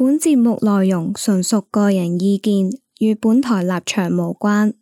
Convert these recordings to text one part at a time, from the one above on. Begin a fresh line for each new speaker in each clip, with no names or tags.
本節目內容純屬個人意見，與本台立場無關。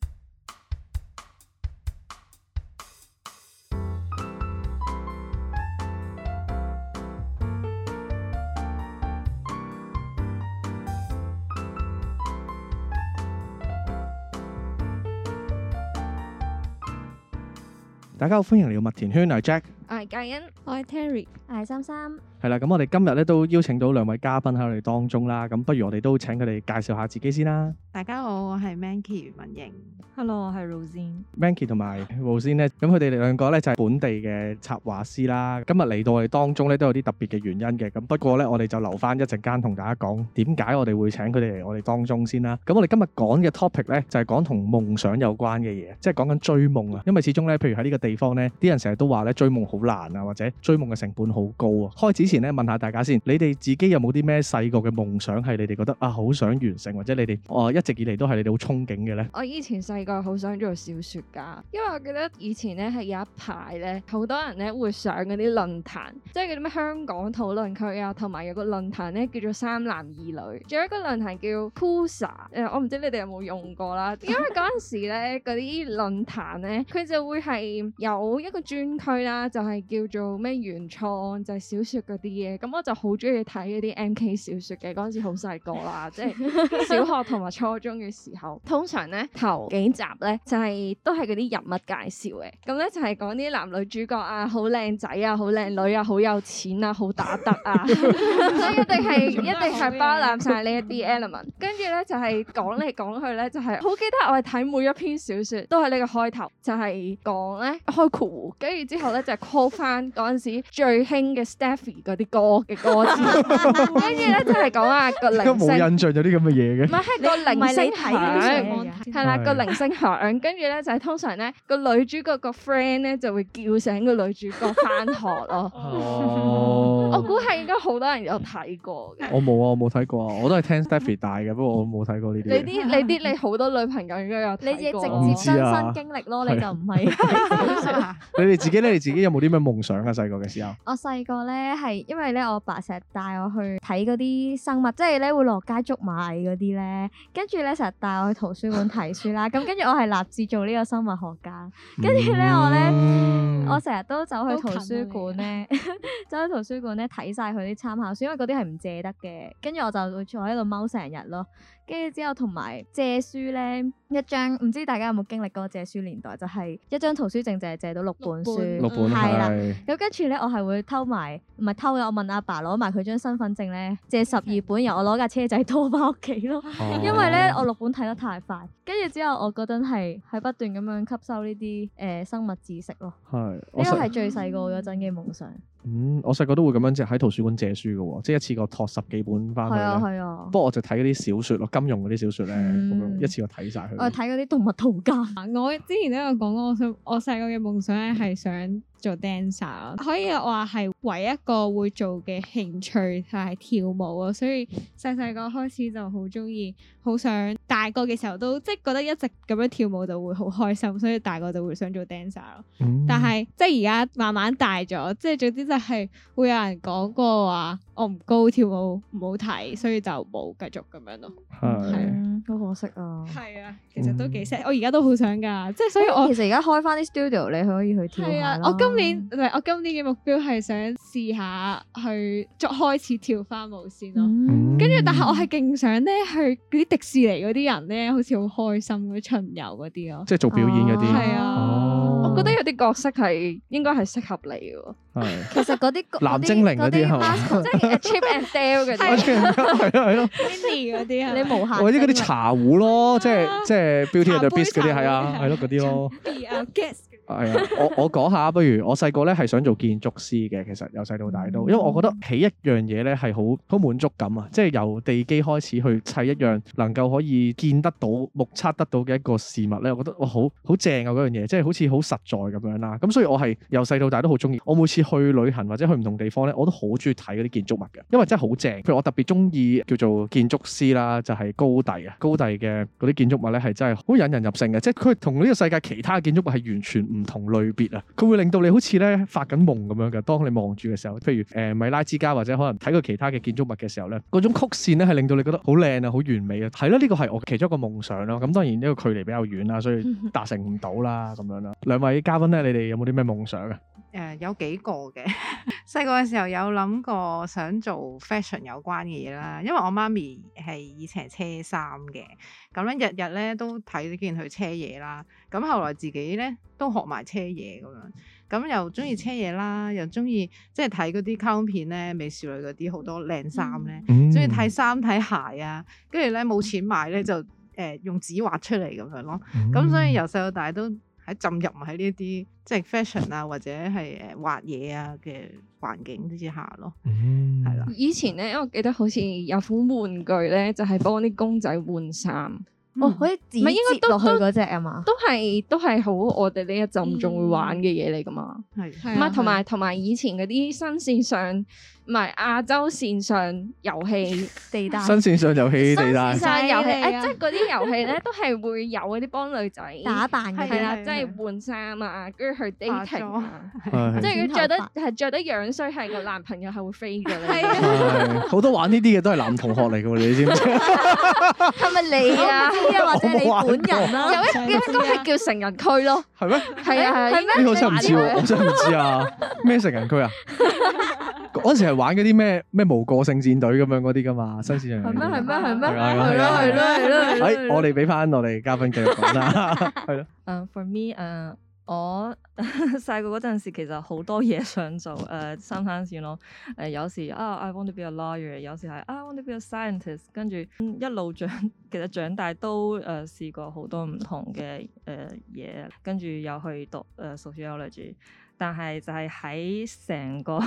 大家好，歡迎嚟到麥田圈，我係 Jack，
我係嘉欣，
我係 Terry，
我係三三。
係啦，咁我哋今日咧都邀請到兩位嘉賓喺我哋當中啦，咁不如我哋都請佢哋介紹下自己先啦。
大家好，我係 Manky 文瑩。
Hello， 我係 Rosine。
Manky 同埋 Rosine 咧，咁佢哋兩個咧就係本地嘅插畫師啦。今日嚟到我哋當中咧都有啲特別嘅原因嘅，咁不過咧我哋就留翻一陣間同大家講點解我哋會請佢哋嚟我哋當中先啦。咁我哋今日講嘅 topic 咧就係講同夢想有關嘅嘢，即係講緊追夢啊。因為始終咧，譬如喺呢個地方咧，啲人成日都話咧追夢好難啊，或者追夢嘅成本好高啊。開始前咧問下大家先，你哋自己有冇啲咩細個嘅夢想係你哋覺得啊好想完成，或者你哋一直以嚟都係你哋好憧憬嘅咧？
我以前細個好想做小說家，因為我記得以前咧係有一排咧，好多人咧會上嗰啲論壇，即係嗰啲咩香港討論區啊，同埋有個論壇咧叫做三男二女，仲有一個論壇叫 Pusa， 我唔知你哋有冇用過啦。因為嗰陣時咧嗰啲論壇咧，佢就會係有一個專區啦，就係叫做咩原創，就係小說嗰啲嘢。咁我就好中意睇嗰啲 MK 小說嘅，嗰陣時好細個啦，即係小學同埋初中嘅時候。通常咧頭幾集咧就係都係嗰啲人物介紹嘅，咁咧就係講啲男女主角啊，好靚仔啊，好靚女啊，好有錢啊，好打得啊，所以一定係包攬晒呢一啲 element。跟住咧就係講嚟講去咧，就係好記得我係睇每一篇小說都係呢個開頭，就係講咧開括弧，跟住之後咧就係 call 翻嗰陣時最興嘅 Stephy 嗰啲歌嘅歌詞，跟住咧就係講啊個鈴聲，
冇印象有啲咁嘅嘢嘅，
唔係個鈴聲響，係啦個鈴聲響，跟住咧就係通常咧個女主角個 friend 咧就會叫醒個女主角翻學咯。我估係應該好多人有睇過嘅。
我冇啊，我冇睇過啊，我都係聽 Stephy 大嘅，不過我冇睇過呢啲。
你好多女朋友應該有睇過。
你自己直接親身經歷咯，你就唔係。
你哋自己有冇啲咩夢想啊？細個嘅時候，
我細個咧係因為咧我爸成日帶我去睇嗰啲生物，即係咧會落街捉螞蟻嗰啲咧，跟住咧成日帶我去圖書館睇書啦。咁跟住我係立志做呢個生物學家。跟住咧我成日都走去圖書館咧，走去圖書館咧睇晒佢啲參考書，因為嗰啲係唔借得嘅。跟住我就會坐喺度踎成日咯。跟住之後同埋借書咧，一張唔知大家有冇經歷過借書年代，就係一張圖書證就係借到6本書，
六本
係啦。咁跟住咧，我係會偷埋，唔係偷嘅，我問阿爸攞埋佢張身份證咧，借12本，然後我攞架車仔拖翻屋企咯。因為咧我6本睇得太快，跟住之後我嗰陣係不斷咁樣吸收呢啲生物知識咯。係，呢個係最細個嗰陣嘅夢想。
我細個都會咁樣即係喺圖書館借書嘅喎，即係一次過托10幾本翻去咧。係啊。不過我就睇嗰啲小説咯，金庸嗰啲小説咧，咁樣一次過睇晒佢。
我睇嗰啲動物圖鑑。
我之前都有講過，我細個嘅夢想咧係想做 dancer， 可以話係唯一一個會做嘅興趣就係跳舞咯，所以細個開始就好中意，好想大個嘅時候都即係覺得一直咁樣跳舞就會好開心，所以大個就會想做 dancer 咯。但係即係而家慢慢大咗，即係總之就係會有人講過話我唔高，跳舞唔好睇，所以就冇繼續咁樣咯。
係，好可惜啊。
係啊，其實都幾 sad，我而家都好想㗎，即係所以我
其實而家開翻啲 studio 你可以去跳下啦。
我今年嘅目標係想試下去開始跳翻舞先咯。跟住但係我係勁想咧去嗰啲迪士尼嗰啲人咧，好似好開心嗰啲巡遊嗰啲咯，
即係做表演嗰啲。
係啊，
我覺得有啲角色係應該係適合你嘅。
其實嗰啲
藍精靈嗰啲係嘛？
即係 Chip and Dale 嗰啲。
係咯。
Disney 嗰啲啊，
你無限。
或者嗰啲茶壺咯，即係 Beauty and the Beast 嗰啲係啊，係咯嗰啲咯。係啊，我講下，不如我細個咧係想做建築師嘅，其實由細到大都，因為我覺得起一樣嘢咧係好滿足感啊，即係由地基開始去砌一樣能夠可以見得到、目測得到嘅一個事物咧，我覺得哇好正啊嗰樣嘢，即係好似好實在咁樣啦。咁所以我係由細到大都好中意。我每次去旅行或者去唔同地方咧，我都好中意睇嗰啲建築物嘅，因為真係好正。譬如我特別中意叫做建築師啦，就係高第啊，高第嘅嗰啲建築物咧係真係好引人入勝嘅，即係佢同呢個世界其他嘅建築物係完全唔唔同類別啊，佢會令到你好似咧發緊夢咁樣嘅。當你望住嘅時候，譬如米拉之家或者可能睇過其他嘅建築物嘅時候咧，嗰種曲線咧係令到你覺得好靚啊，好完美啊。係咯，呢個係我其中一個夢想咯。咁當然呢個距離比較遠啦，所以達成唔到啦咁樣啦。兩位嘉賓咧，你哋有冇啲咩夢想啊？
有幾個嘅。細個嘅時候有諗過想做 fashion 有關嘅嘢啦，因為我媽咪係以前係車衫嘅，咁咧日日咧都睇見佢車嘢啦。咁後來自己咧都學埋車嘢咁樣，咁又中意車嘢啦，又中意即係睇嗰啲卡通片咧，美少女嗰啲好多靚衫咧，中意睇衫睇鞋啊，跟住咧冇錢買咧就用紙畫出嚟咁樣咯。咁所以由細到大都浸入喺呢啲即係 fashion 啊，或者係畫嘢啊嘅環境之下咯，係啦。
以前咧，我記得好似有款玩具咧，就係幫啲公仔換衫。
可以自己接落去嗰隻啊嘛，
都係好我哋呢一陣仲會玩嘅嘢嚟噶嘛。係，唔係同埋以前嗰啲新線上。唔係亞洲線上遊戲地帶，
新線上遊戲地帶，
新線上遊戲即係嗰啲遊戲咧，都係會有嗰啲幫女仔
打扮嘅，
係啦，即係換衫啊，跟住去 dating 啊，即係佢着得樣衰，係個男朋友係會飛嘅咧。
係好多玩呢啲嘅都係男同學嚟嘅喎，你知唔知？
係咪你啊？
或者你本人啦？
有一個係叫成人區咯，
係咩？
係啊係咩？
呢個真係唔知喎，我真係唔知啊！咩成人區啊？嗰時係玩嗰啲咩無個性戰隊咁樣嗰啲噶嘛，新線上
係咩？
係我哋俾翻我哋嘉賓繼續講啦，係咯。
For me，我細個嗰陣時其實好多嘢想做，三餐線咯。有時I want to be a lawyer， 有時係I want to be a scientist， 跟住一路其實長大都試過好多唔同嘅嘢，跟住又去讀sociology。但係就係喺成個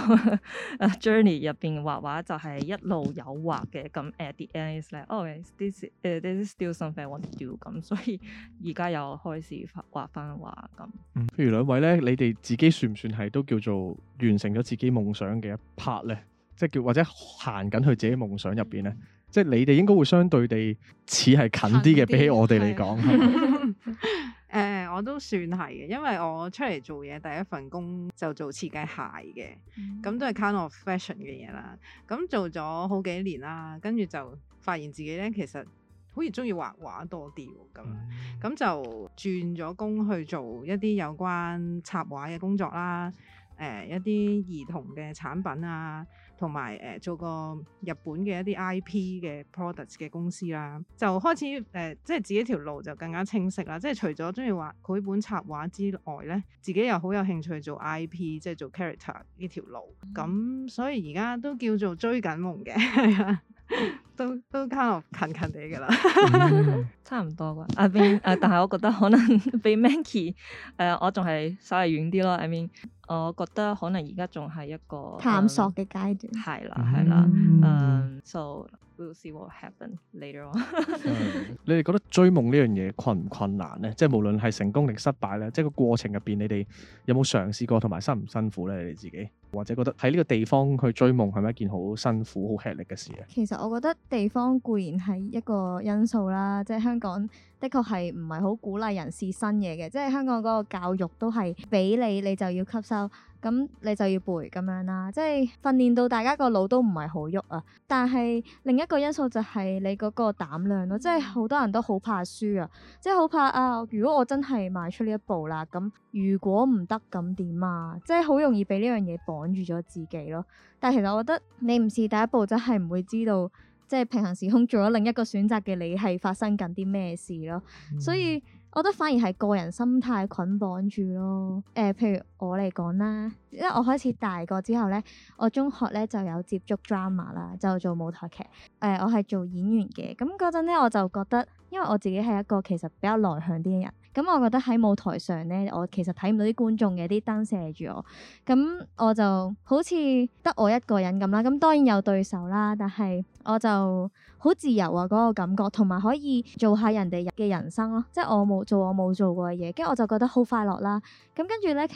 journey 入邊畫畫就係一路有畫嘅，咁 at the end is like this is still something I want to do， 咁所以而家又開始畫翻畫咁。
譬如兩位咧，你哋自己算唔算係都叫做完成咗自己夢想嘅一 part 咧？即係叫或者行緊去自己夢想入邊咧？即係你哋應該會相對地似係近啲嘅，比起我哋嚟講。
我都算係嘅，因為我出嚟做嘢第一份工就做設計鞋嘅，咁都係 kind of fashion 嘅嘢啦。咁做咗好幾年啦，跟住就發現自己咧其實好似中意畫畫多啲咁就轉咗工去做一啲有關插畫嘅工作啦，一啲兒童嘅產品啊，同埋做過日本嘅一啲 IP 嘅 products 嘅公司啦，就開始即係自己條路就更加清晰啦。即係除咗中意畫繪本插畫之外咧，自己又好有興趣做 IP， 即係做 character 呢條路。咁所以而家都叫做追緊夢嘅，係啊。都 kind of 近地㗎啦，
差唔多啩。但係我覺得可能比 Manky 我仲係稍微遠啲咯。我覺得可能而家仲係一個
探索嘅階段。
係啦，so we'll see what happen later on。
你哋覺得追夢呢樣嘢困唔困難咧？即係無論係成功定失敗咧，即係個過程入邊，你哋有冇嘗試過同埋辛唔辛苦咧？你哋自己或者覺得喺呢個地方去追夢係咪一件好辛苦、好吃力嘅事啊？
其實我覺得地方固然係一個因素啦，即係香港的確係唔係好鼓勵人試新嘢嘅，即係香港嗰個教育都係俾你就要吸收，咁你就要背咁樣啦，即係訓練到大家個腦都唔係好喐啊。但係另一個因素就係你嗰個膽量咯，即係好多人都好怕輸啊，即係好怕啊！如果我真係邁出呢一步啦，咁如果唔得咁點啊？即係好容易俾呢樣嘢綁住咗自己咯。但係其實我覺得你唔試第一步，真係唔會知道，即係平行時空做咗另一個選擇嘅你係發生緊啲咩事咯。所以我覺得反而係個人心態捆綁住咯。譬如我嚟講啦，因為我開始大個之後咧，我中學咧就有接觸 drama 啦，就做舞台劇。我係做演員嘅。咁嗰陣咧，我就覺得，因為我自己係一個其實比較內向啲嘅人，咁我覺得喺舞台上咧，我其實睇唔到啲觀眾嘅，啲燈射住我，咁我就好似得我一個人咁啦。咁當然有對手啦，但係我就好自由啊，嗰個感覺，同埋可以做下人哋嘅人生咯，即係我冇做過嘅嘢，跟住我就覺得好快樂啦。咁跟住咧，其實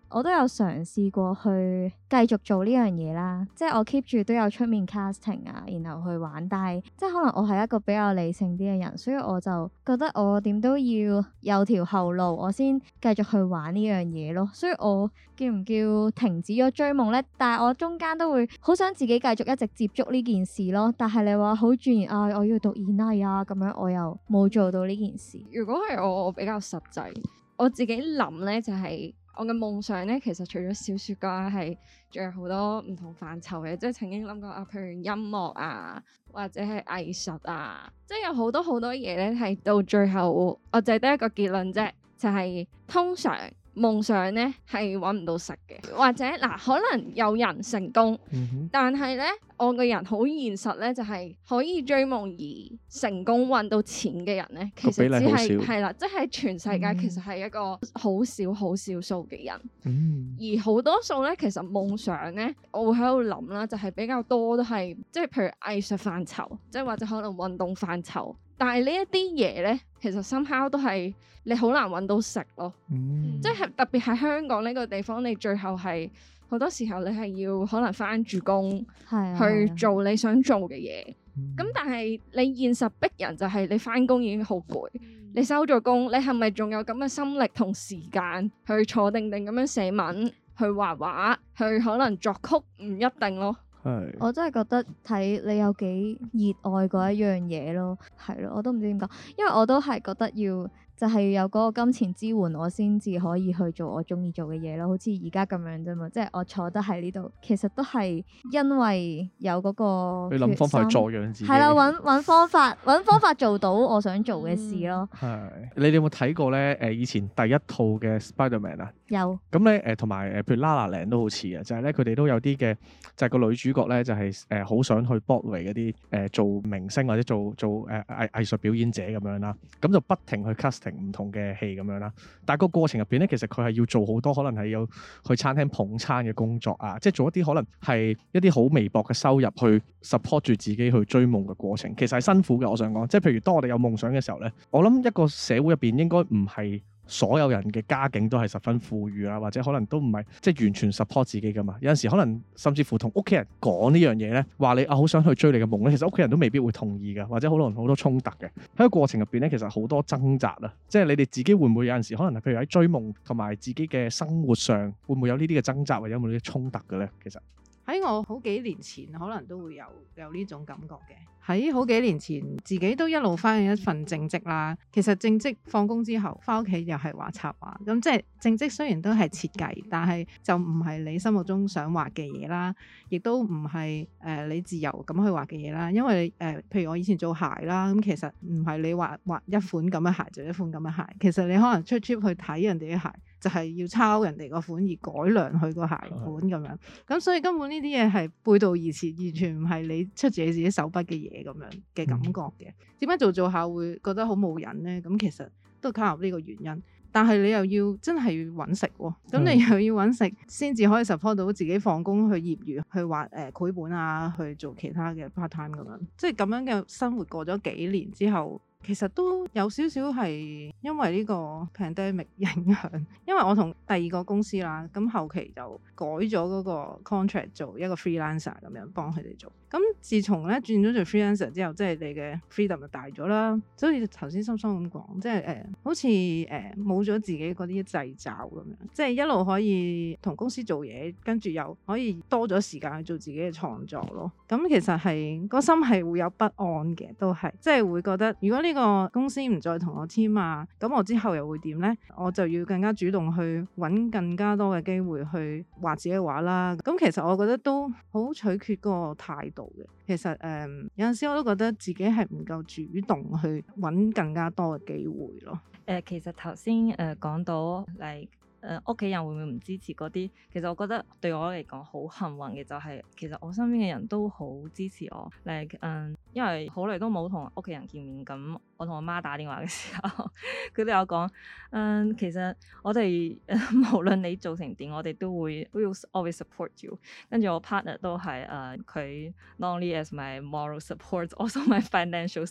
我都有嘗試過去繼續做呢樣嘢啦，即係我 keep 住都有出面 casting 啊，然後去玩，但係即係可能我係一個比較理性啲嘅人，所以我就覺得我點都要有條後路，我先繼續去玩呢樣嘢咯。所以我叫唔叫停止咗追夢咧？但係我中間都會好想自己繼續一直接觸呢件事咯。但係你話好鑽研啊，我要讀演藝啊咁樣，我又冇做到呢件事。
如果係我比較實際，我自己諗咧就係我嘅夢想咧，其實除咗小說家係，仲有好多唔同範疇嘅，即係曾經諗過啊，譬如音樂啊，或者係藝術啊，即係有好多好多嘢咧，係到最後我就係得一個結論啫，就係通常夢想咧係揾唔到食嘅，或者嗱可能有人成功，但係咧我個人好現實咧，就係可以追夢而成功揾到錢嘅人咧，其實只係啦，即係全世界其實係一個好少好少數嘅人，而好多數咧其實夢想咧，我會喺度諗啦，就係比較多都係即係譬如藝術範疇，即係或者可能運動範疇。但係呢一啲嘢咧，其實 somehow 都係你好難揾到食咯，即係特別係香港呢個地方，你最後係好多時候你係要可能返住工去做你想做嘅嘢。咁但係你現實逼人就係你返工已經好攰，你收咗工，你係咪仲有咁嘅心力同時間去坐定定咁樣寫文、去畫畫、去可能作曲？唔一定咯。
我真係覺得睇你有幾熱愛嗰一樣嘢咯，係咯，我都唔知點講，因為我都係覺得要就係有嗰個金錢支援，我先至可以去做我中意做嘅嘢咯。好似而家咁樣啫嘛，即係我坐得喺呢度，其實都係因為有嗰個
你諗方法去助養自己，
係啦，揾方法做到我想做嘅事咯。
係你哋有冇睇過咧？以前第一套嘅 Spider-Man 啊，
有
咁咧同埋譬如 La La Land 都好似啊，就係咧佢哋都有啲嘅，就係個女主角咧就係好想去 Broadway 嗰啲做明星或者做藝術表演者咁樣啦，咁就不停去 casting 唔同嘅戲咁樣啦，但係個過程入邊咧，其實佢係要做好多可能係要去餐廳捧餐嘅工作啊，即係做一啲可能係一啲好微薄嘅收入去 support 住自己去追夢嘅過程，其實係辛苦嘅。我想講，即係譬如當我哋有夢想嘅時候咧，我諗一個社會入邊應該唔係所有人嘅家境都係十分富裕啊，或者可能都唔係即係完全 support 自己噶嘛。有陣時可能甚至乎同屋企人講呢樣嘢咧，話你好想去追你嘅夢咧，其實屋企人都未必會同意噶，或者可能好多衝突嘅喺個過程入邊咧，其實好多掙扎啊。即係你哋自己會唔會有陣時可能係譬如喺追夢同埋自己嘅生活上會唔會有呢啲嘅掙扎，或者有冇呢啲衝突嘅咧？其實
喺我好幾年前可能都會有呢種感覺嘅。喺好幾年前，自己都一路返緊一份正職啦。其實正職放工之後返屋企又係畫插畫，咁即係正職雖然都係設計，但係就唔係你心目中想畫嘅嘢啦，亦都唔係你自由咁去畫嘅嘢啦。因為譬如我以前做鞋啦，咁其實唔係你畫一款咁嘅鞋就一款咁嘅鞋，其實你可能出 trip 去睇人哋嘅鞋，就係要抄人哋個款而改良佢個鞋款咁樣。咁所以根本呢啲嘢係背道而馳，完全唔係你出自你自己手筆嘅嘢咁樣嘅感覺嘅。點解做下會覺得好冇癮咧？咁其實都卡入呢個原因。但係你又要真係要揾食喎，咁你又要揾食先至可以 support 到自己放工去業餘去畫繪本啊，去做其他嘅 part time 咁樣。即係咁樣嘅生活過咗幾年之後，其實都有少少係因為呢個 pandemic 影響，因為我同第二個公司啦，咁後期就改咗嗰個 contract 做一個 freelancer 咁樣幫佢哋做。咁自從咧轉咗做 freelancer 之後，即係你嘅 freedom 就大咗啦。所以頭先心心咁講，即係好似冇咗自己嗰啲掣肘咁樣，即係一路可以同公司做嘢，跟住又可以多咗時間去做自己嘅創作咯。咁其實係個心係會有不安嘅，都係即係會覺得如果呢個公司唔再同我簽啊，咁我之後又會點咧？我就要更加主動去揾更加多嘅機會去畫自己嘅畫啦。咁其實我覺得都好取決嗰個態度嘅。其實有陣時我都覺得自己係唔夠主動去揾更加多嘅機會咯。
其實頭先講到嚟屋企人會唔會唔支持嗰啲？其實我覺得對我嚟講好幸運嘅就係，其實我身邊嘅人都好支持我。因為好耐都冇同屋企人見面，咁我同我媽打電話嘅時候，佢都有講，其實我哋無論你做成點，我哋都會 always support you。跟住我 partner 都係佢 not only as my moral support，also my financial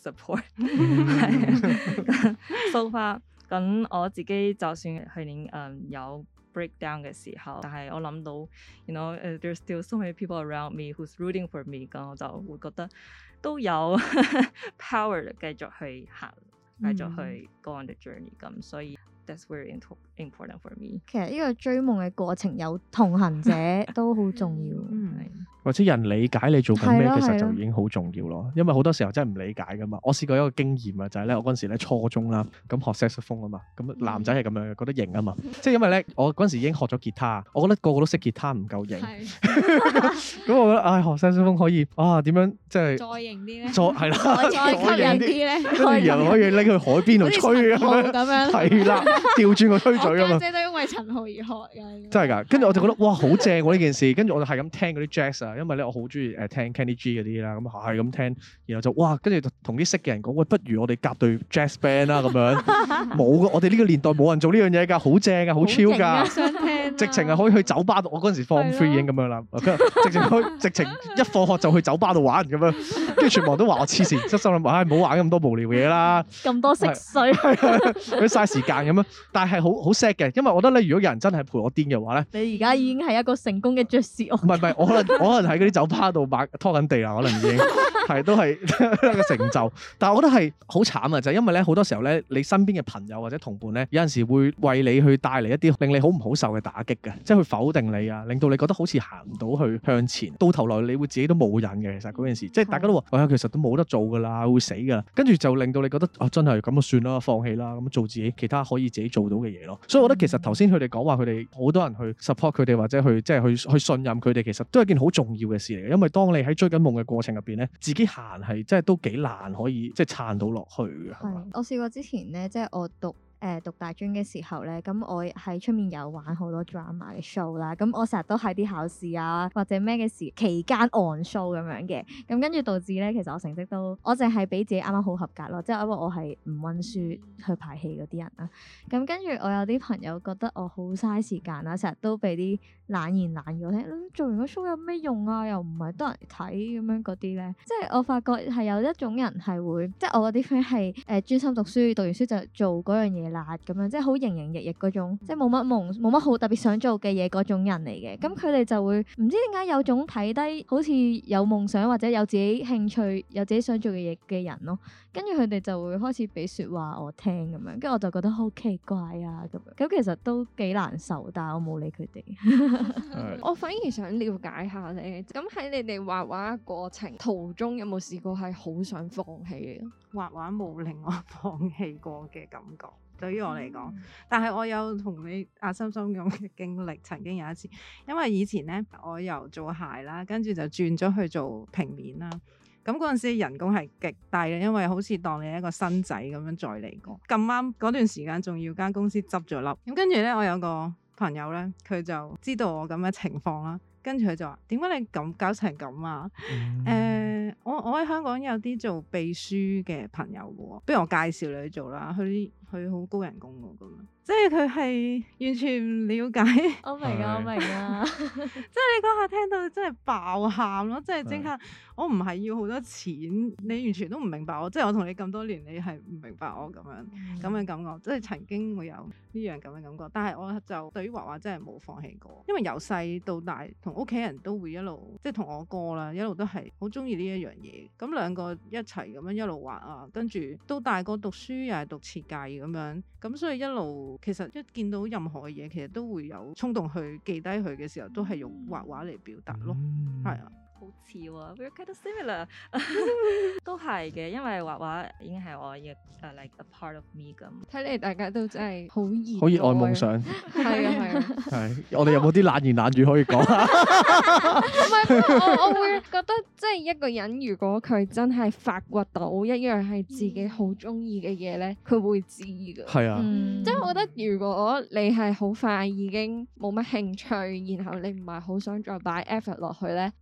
support。So far。咁我自己就算去年有 break down 嘅時候，但係我諗到 you know there's still so many people around me who's rooting for me， 咁我就會覺得都有 power 繼續去行，繼續去 go on the journey， 咁所以 that's very important for me。
其實呢個追夢嘅過程有同行者都好重要，
或者人理解你做緊咩，其實就已經好重要咯。因為好多時候真係唔理解噶嘛。我試過一個經驗啊，就係咧，我嗰陣時咧初中啦，咁學 saxophone 啊嘛，咁男仔係咁樣嘅，覺得型啊嘛。即係因為咧，我嗰陣時已經學咗吉他，我覺得個個都識吉他唔夠型。咁我覺得學 saxophone 可以點樣即係
再型啲咧？
係啦，
再吸引啲咧？
跟住又可以拎去海邊度吹咁樣。係啦，調轉個吹嘴啊嘛。
我家姐都因為陳浩而學嘅。
真係㗎，跟住我就覺得哇好正喎呢件事，跟住我就係咁聽嗰啲 jazz 啊，因為咧我好中意聽 Kenny G 嗰啲啦，咁係咁聽，然後就哇，跟住同啲識嘅人講，喂，不如我哋夾隊 jazz band 啦咁樣。冇㗎，我哋呢個年代冇人做呢樣嘢㗎，好正㗎，好超㗎。
想聽，
直情係可以去酒吧度，我嗰陣時 form 3已經咁樣啦，直情一放學就去酒吧度玩咁樣，跟住全部人都話我黐線，心諗唉唔好玩咁多無聊嘢啦，
咁多色水，
佢嘥時間咁樣。但係好 sad 嘅，因為我覺得咧，如果有人真係陪我癲嘅話咧，
你而家已經係一個成功嘅爵士樂。
唔係，我可能喺嗰啲酒吧度拖緊地啦，可能已經係都係一個成就。但係我覺得係好慘啊，就係因為咧好多時候咧，你身邊嘅朋友或者同伴咧，有陣時會為你去帶嚟一啲令你好唔好受嘅打擊嘅，即係去否定你啊，令到你覺得好似行唔到去向前，到頭來你會自己都冇癮嘅。其實嗰件事，即係大家都話，其實都冇得做㗎啦，會死㗎啦。跟住就令到你覺得真係咁就算啦，放棄啦，咁做自己其他可以自己做到嘅嘢咯。所以我覺得其實頭先佢哋講話，佢哋好多人去 support 佢哋或者去即係去信任佢哋，其實都係一件好重要嘅事嚟嘅。因為當你喺追緊夢嘅過程入邊咧，自己行係真係都幾難可以即係撐到落去嘅。係，
我試過之前咧，即係我讀大專嘅時候咧，咁我喺出面有玩好多 drama 嘅 show 啦，咁我成日都喺啲考試啊或者咩嘅時期間 on show 咁樣嘅，咁跟住導致咧，其實我成績都我淨係俾自己啱啱好合格咯，即係因為我係唔溫書去排戲嗰啲人啦，咁跟住我有啲朋友覺得我好嘥時間啦，成日都俾啲冷言冷語我聽，做完個 show 有咩用啊？又唔係得人睇咁樣嗰啲咧，即係我發覺係有一種人係會，即係我嗰啲 friend 係專心讀書，讀完書就做嗰樣嘢啦，咁樣即係好營營役役嗰種，即係冇乜夢，冇乜好特別想做嘅嘢嗰種人嚟嘅。咁佢哋就會唔知點解有種睇低好似有夢想或者有自己興趣、有自己想做嘅嘢嘅人咯。跟住佢哋就會開始俾説話我聽咁樣，跟住我就覺得好奇怪啊咁樣。咁其實都幾難受，但係我冇理佢哋。
我反而想了解下你，咁喺你哋畫畫嘅過程途中，有冇試過係好想放棄嘅？
畫畫冇令我放棄過嘅感覺，對於我嚟講。但係我有同你阿心心咁嘅經歷，曾經有一次，因為以前咧我由做鞋啦，跟住就轉咗去做平面啦。咁嗰陣時人工係極低嘅，因為好似當你一個新仔咁樣再嚟過。咁啱嗰段時間仲要間公司執咗笠，咁跟住咧我有個朋友咧，佢就知道我咁嘅情況啦，跟住佢就話：點解你咁搞成咁啊？我喺香港有啲做秘書嘅朋友嘅喎，不如我介紹你去做啦。佢好高人工喎，咁樣即係佢係完全唔了解。
我明啊，我明啊，
即係你嗰下聽到真係爆喊咯，即係即刻我唔係要好多錢，你完全都唔明白我，即係我同你咁多年，你係唔明白我咁樣咁嘅感覺，即係曾經會有呢樣咁嘅感覺。但係我就對於畫畫真係冇放棄過，因為由細到大同屋企人都會一路即係同我哥啦，一路都係好中意呢一樣嘢。咁兩個一齊咁樣一路畫啊，跟住到大個讀書又係讀設計咁樣，咁所以一路其實一見到任何嘅嘢，其實都會有衝動去記低佢嘅時候，都係用畫畫嚟表達咯，係啊。
好似喎，we're kind of similar， 都係嘅，因為畫畫已經係我嘅like a part of me 咁。
睇嚟大家都真係好熱，
好熱愛夢想。
係啊係啊。
係，我哋有冇啲冷言冷語可以講啊？
唔係，我會覺得即係一個人如果佢真係發掘到一樣係自己好中意嘅嘢咧，佢會知㗎。
係啊，
即係我覺得如果你係好快已經冇乜興趣，然後你唔係好想再擺 effort 落去咧，咁嗰樣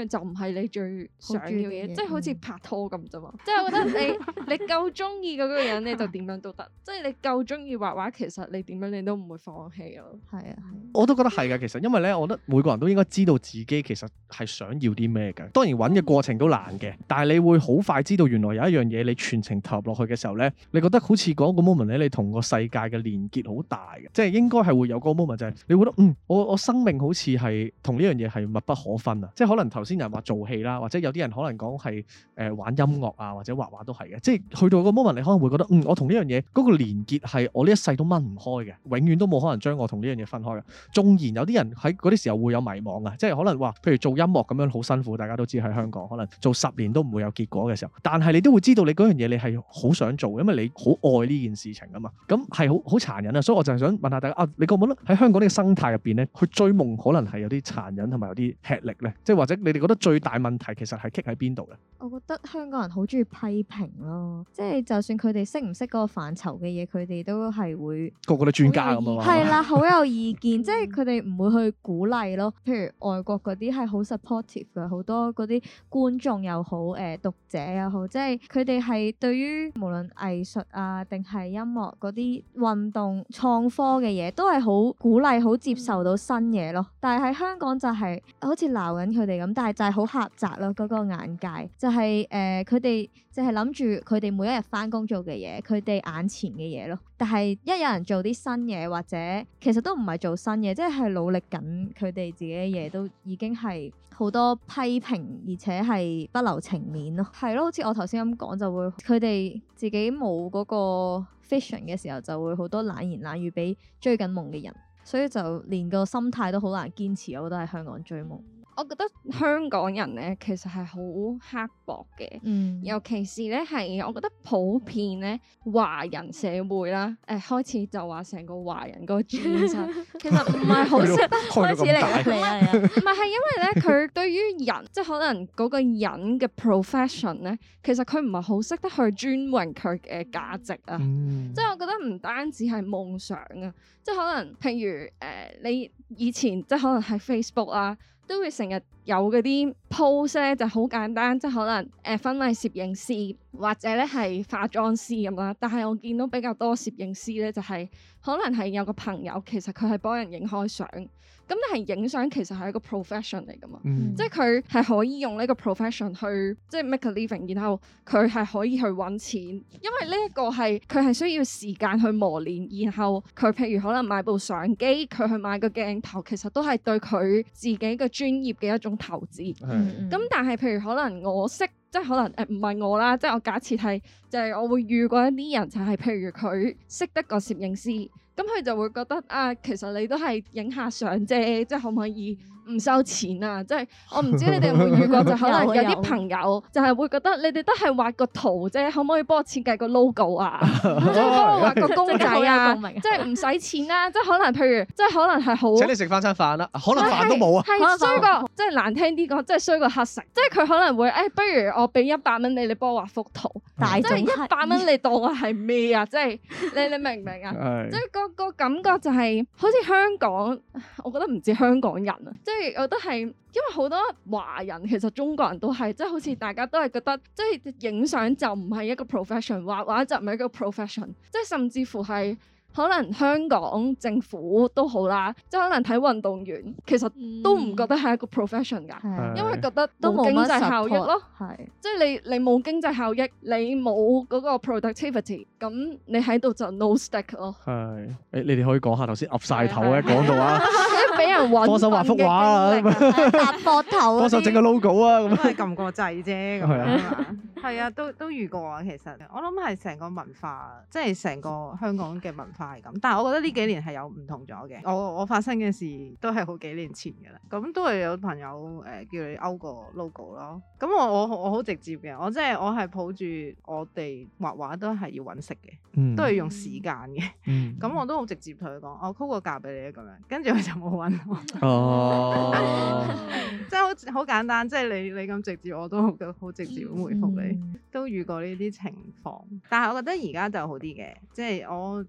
樣就唔係你最想要嘅嘢，即係好似拍拖咁啫嘛。即係我覺得你夠中意嗰個人，你就點樣都得。即係你夠中意畫畫，其實你點樣你都唔會放棄咯。
係啊，
我都覺得係㗎。其實因為咧，我覺得每個人都應該知道自己其實係想要啲咩嘅。當然揾嘅過程都難嘅，但係你會好快知道原來有一樣嘢你全程投入落去嘅時候咧，你覺得好似嗰個 moment 咧，你同個世界嘅連結好大嘅，即係應該係會有嗰個 moment 就係你會覺得我生命好似係同呢樣嘢係密不可分啊！即係可能頭先人話做戲啦，或者有啲人可能講係玩音樂啊，或者畫畫都係嘅。即係去到個 moment 你可能會覺得我同呢樣嘢嗰個連結係我呢一世都掹唔開嘅，永遠都冇可能將我同呢樣嘢分開嘅。縱然有啲人喺嗰啲時候會有迷惘啊，即係可能話譬如做音樂咁樣好辛苦，大家都知喺香港可能做10年都唔會有結果嘅時候，但係你都會知道你嗰樣嘢你係好想做，因為你好愛呢件事情啊嘛。咁係好殘忍啊，所以我就係想問下大家你覺唔覺得喺香港呢個生態入邊咧，去追夢可能係有啲殘忍同埋有啲吃力咧？即係或者你哋覺得最大問題其實係棘喺邊度咧？
我覺得香港人好中意批評咯，即係就算佢哋識唔識嗰個範疇嘅嘢，佢哋都係會
個個都專家咁啊嘛。
係啦，好有意見，即係佢哋唔會去鼓勵咯。譬如外國嗰啲係好 supportive 嘅，好多嗰啲觀眾又好，讀者又好，即係佢哋係對於無論藝術啊定係音樂嗰啲運動創科嘅嘢，都係好鼓勵、好接受到新嘢咯。但係喺香港就係好似鬧緊佢哋咁，但係就係好狹窄咯，嗰個眼界就係佢哋就係諗住佢哋每一日返工做嘅嘢，佢哋眼前嘅嘢咯。但係一有人做啲新嘢，或者其實都唔係做新嘢，即係努力緊佢哋自己嘅嘢，都已經係好多批評，而且係不留情面咯。係咯，好似我頭先咁講，就會佢哋自己冇嗰個 vision 嘅時候，就會好多冷言冷語俾追緊夢嘅人，所以就連個心態都好難堅持。我覺得喺香港追夢。
我覺得香港人咧其實係好刻薄嘅，尤其是咧係我覺得普遍咧華人社會啦，開始就話成個華人個轉身，其實唔係好識得
開始嚟啊，
唔係因為咧佢對於人即係可能嗰個人嘅 profession 咧，其實佢唔係好識得去尊榮佢嘅價值啊，即係我覺得唔單止係夢想啊，即係可能譬如你以前即係可能係 Facebook 啊。都會成日有嗰啲 post 咧，就好簡單，即係可能婚禮攝影師或者咧係化妝師咁啦。但係我見到比較多攝影師咧，就係可能係有個朋友，其實佢係幫人影開相。咁但係影相其實係一個 profession 嚟噶嘛，即係佢係可以用呢個 profession 去即係 make a living，然後佢係可以去揾錢，因為呢一個係佢係需要時間去磨練，然後佢譬如可能買部相機，佢去買個鏡頭，其實都係對佢自己嘅專業嘅一種投資。咁但係譬如可能我識。即係可能唔係我啦，即係我假設係就係我會遇過一啲人，就係譬如佢識得個攝影師，咁佢就會覺得啊，其實你都係影下相啫，即係可唔可以唔收錢啊？即係我唔知你哋有冇遇過，就可能有啲朋友就係會覺得你哋都係畫個圖啫，可唔可以幫我設計個 logo 啊？即係幫我畫個公仔啊？即係唔使錢啦，即係可能譬如即係可能係好請你食翻餐飯啦，可能飯都冇啊，係衰過即係難聽啲講，即係衰過乞食，即係佢可能會不如我俾100蚊你幫我畫幅圖，即係100蚊你當我係咩啊？即係你明唔明啊？即係個感覺就係好似香港，我覺得唔止香港人啊，即係我覺得係因為好多華人其實中國人都係，即係好似大家都係覺得，即係影相就唔係一個 profession， 畫畫就唔係一個 profession， 即係甚至乎係。可能香港政府都好啦，即係可能睇運動員，其實都唔覺得係一個 profession 㗎，因為覺得都冇經濟效益咯，即係你冇經濟效益，你冇嗰個 productivity， 咁你喺度就 no stick 咯。係，
你哋可以講下頭先岌晒頭咧，講到啊，
俾人揾
幫手畫幅畫啊，
搭膊頭，
幫手整個 logo 啊，咁
都係撳個掣啫，咁樣啊，係啊，都遇過啊，其實我諗係成個文化，即係成個香港嘅文化。係咁，但係我覺得呢幾年係有唔同咗嘅。我發生嘅事都係好幾年前嘅啦。咁都係有朋友叫你勾個 logo 咯。咁我好直接嘅，我係抱住我哋畫畫都係要揾食嘅，都係用時間嘅。咁我都好直接同佢講，我 call 個價俾你咁樣，跟住佢就冇揾我。哦，即係好簡單，即係你咁直接，我都好直接咁回覆你。都遇過呢啲情況，但係我覺得而家就好啲嘅，即係我近期。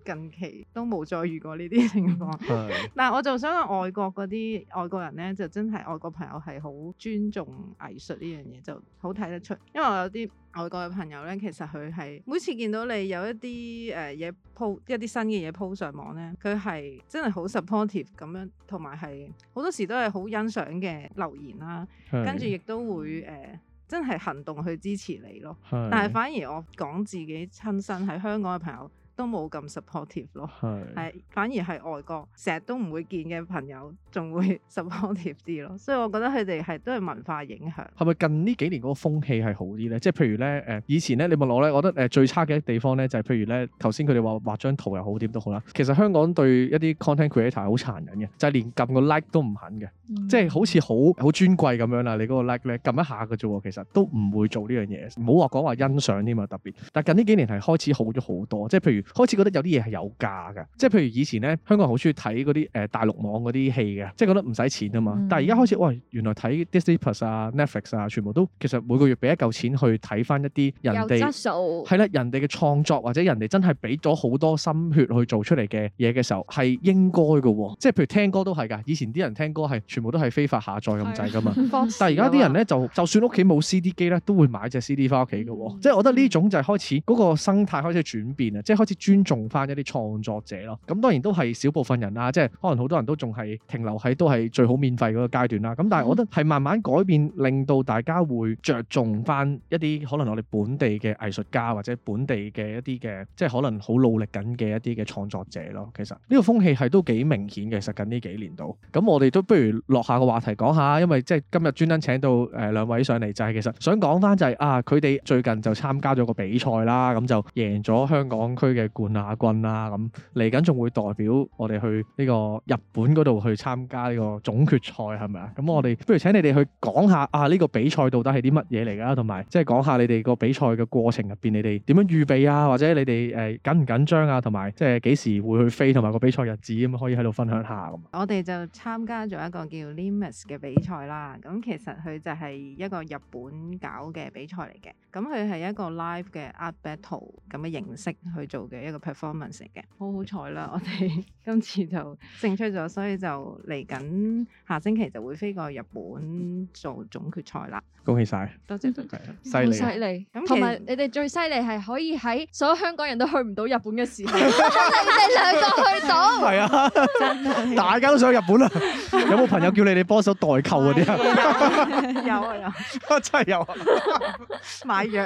期都冇再遇過呢啲情況。但係我就想講外國嗰啲外國人咧，就真係外國朋友係好尊重藝術呢樣嘢，就好睇得出。因為我有啲外國嘅朋友咧，其實佢係每次見到你有一啲嘢 po 一啲新嘅嘢 po 上網咧，佢係真係好 supportive 咁樣，同埋係好多時都係好欣賞嘅留言啦，跟住亦都會真係行動去支持你咯。但係反而我講自己親身喺香港嘅朋友都冇咁 supportive 咯，係反而係外國成日都唔會見嘅朋友仲會 supportive 啲咯，所以我覺得佢哋係都係文化影響。係咪近呢幾年嗰個風氣係好啲咧？即係譬如咧以前咧你問我咧，我覺得最差嘅地方咧就係譬如咧頭先佢哋話畫張圖又好點都好啦，其實香港對一啲 content creator 係好殘忍嘅，就係連撳個 like 都唔肯嘅，即係好似好尊貴咁樣啦。你嗰個 like 咧撳一下嘅啫喎，其實都唔會做呢樣嘢，唔好話講話欣賞添啊特別。但係近呢幾年係開始好咗好多，即係譬如開始覺得有啲嘢係有價嘅，即係譬如以前咧香港人好中意睇嗰啲大陸網嗰啲戲嘅，即係覺得唔使錢啊嘛。但係而家開始，喂，原來睇 Disney Plus 啊、Netflix 啊，全部都其實每個月俾一嚿錢去睇翻一啲人哋
有質素
係啦，人哋嘅創作或者人哋真係俾咗好多心血去做出嚟嘅嘢嘅時候，係應該嘅喎。即係譬如聽歌都係㗎，以前啲人聽歌係全部都係非法下載咁滯㗎嘛。但係而家啲人咧就算屋企冇 CD 機咧，都會買隻 CD 翻屋企嘅喎。即係我覺得呢種就係開始嗰個生態開始轉變啊，即係開始尊重翻一啲創作者咯。咁當然都係少部分人啦，即係可能好多人都仲係停留喺都係最好免費嗰個階段啦。咁但係我覺得係慢慢改變，令到大家會着重翻一啲可能我哋本地嘅藝術家或者本地嘅一啲嘅即係可能好努力緊嘅一啲嘅創作者咯。其實呢個風氣係都幾明顯嘅，其實近呢幾年度。咁我哋都不如落下個話題講下，因為即係今日專登請到兩位上嚟，就係其實想講翻就係佢哋最近就參加咗個比賽啦，咁就贏咗香港區嘅冠亞軍啦。咁嚟緊仲會代表我哋去呢個日本嗰度去參加呢個總決賽係咪啊？咁我哋不如請你哋去講下呢個比賽到底係啲乜嘢嚟㗎？同埋即係講下你哋個比賽嘅過程入邊，你哋點樣預備啊？或者你哋緊唔緊張啊？同埋即係幾時會去飛，同埋個比賽日子咁可以喺度分享下咁。
我哋就參加咗一個叫 Limes 嘅比賽啦。咁其實佢就係一個日本搞嘅比賽嚟嘅。咁佢係一個 live 嘅 art battle 咁嘅形式去做嘅一個 performance 嚟嘅。好彩啦，我哋今次就勝出咗，所以就嚟緊下星期就會飛過日本做總決賽啦。
恭喜晒！
多謝，
犀利，
犀利。咁同埋你哋最犀利係可以喺所有香港人都去唔到日本嘅時候，你哋兩個去到。係啊，真係
大家都想去日本啊！有冇朋友叫你哋幫手代購嗰啲啊？
有啊，
真係有啊！
買藥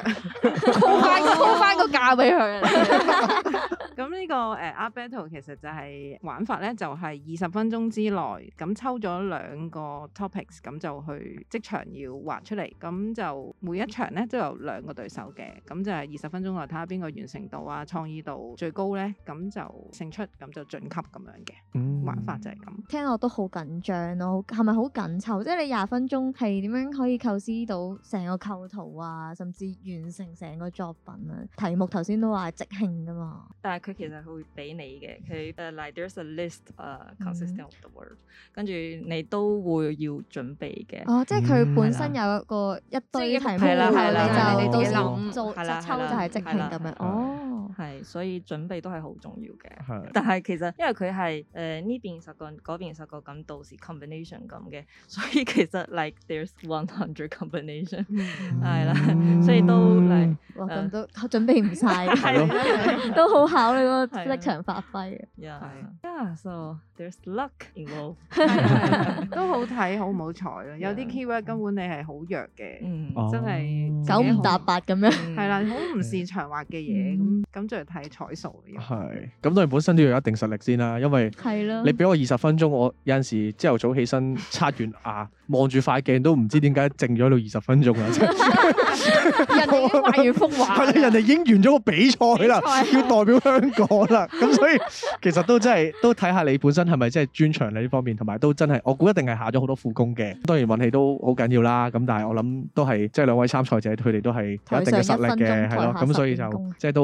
，call 翻個價俾佢。
咁呢個art battle 其實就係玩法咧，就係20分鐘之內咁抽咗2個 topics， 咁就去即場要畫出嚟。咁就每一場咧都有2個對手嘅，咁就係20分鐘內睇下邊個完成度啊、創意度最高咧，咁就勝出，咁就晉級咁樣嘅。玩法就係咁。
聽落都好緊張咯，係咪好緊湊？即係你20分鐘係點樣可以構思到成個構圖啊，甚至完成成個作品啊？題目頭先都話係即興噶嘛，
但係佢其實會俾你嘅，佢like there's a list consisting of the word， 跟住你都會要準備嘅。
哦，即係佢本身有一堆題目，你就到時做即抽就係即興咁樣。哦，
係，所以準備都係好重要嘅。但係其實因為佢係呢邊10個，嗰邊10個咁，到時 combination 咁嘅，所以其實 like there's 100 combination 係啦，所以都嚟
咁都準備唔晒，都好考你個即場發揮嘅。
So there's luck involved，
都好睇好唔好彩咯。有啲 keyword 根本你係好弱嘅，真係
9唔搭8咁樣。
係啦，好唔擅長畫嘅嘢，咁就係睇彩數嘅。
係，咁當然本身都要有一定實力先啦，因為你俾我20分鐘，我有陣時朝頭早起身刷完牙，望住塊鏡都唔知點解靜咗到20分鐘啦。
人哋已經畫完幅畫，
人哋已經完咗個比賽啦，要代表香港啦。咁所以其實都真係都睇下你本身係咪真係專長喺呢方面，同埋都真係我估一定係下咗好多苦功嘅。當然運氣都好緊要啦。咁但係我諗都係即係兩位參賽者佢哋都係有一定嘅實力嘅，係咯。咁所以就即係都恭喜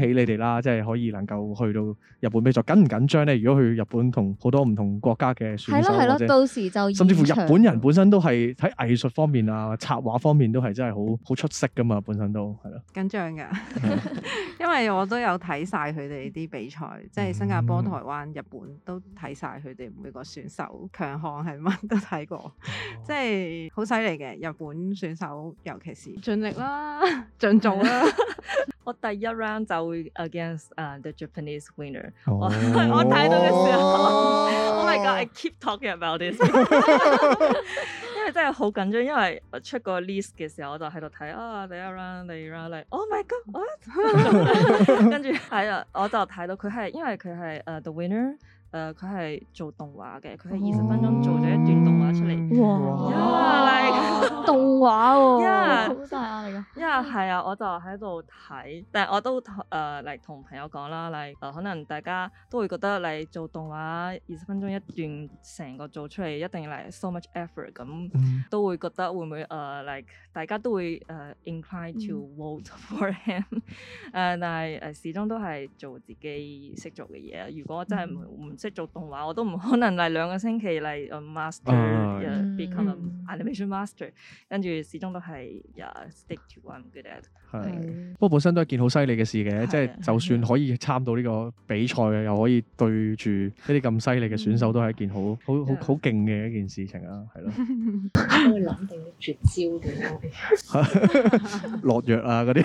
喜你哋啦，即係可以能夠去到日本比賽，緊唔緊張咧？如果去日本同好多唔同國家嘅選手，
係咯，到時就
甚至乎日本人本身都係喺藝術方面啊、插畫方面都係真係好出色噶嘛，本身都係咯。
緊張㗎，因為我都有睇晒佢哋啲比賽，即係新加坡、台灣、日本都睇晒佢哋每個選手強項係乜都睇過，即係好犀利嘅日本選手，尤其是盡力啦，盡做啦。
我第一 round 就會 against the Japanese winner。我睇到嘅時候，Oh my God！I keep talking about this。因為真係好緊張，因為我出個 list 嘅時候，我就喺度睇第一 round、第二 round，Oh my God！what？ 跟住係啊，我就睇到佢係因為佢係the winner。佢係做動畫嘅，佢係20分鐘做咗一段動畫出嚟。哇！
動畫喎，
好大壓力㗎。因為係啊，我就喺度睇，但係我都嚟同朋友講啦，可能大家都會覺得嚟做動畫20分鐘一段，成個做出嚟一定要嚟 so much effort 咁，都會覺得會唔會大家都會incline to vote for him。但係始終都係做自己識做嘅嘢。如果真係唔識做動畫，我都唔可能嚟2個星期嚟master，become animation master， 跟住始終都係stick to what I'm good at。
係，不過本身都係件好犀利嘅事嘅，即係就算可以參到呢個比賽嘅，又可以對住呢啲咁犀利嘅選手，都係一件好勁嘅一件事情啊，係咯。
幫佢諗定啲絕招嘅，
落藥啊嗰啲，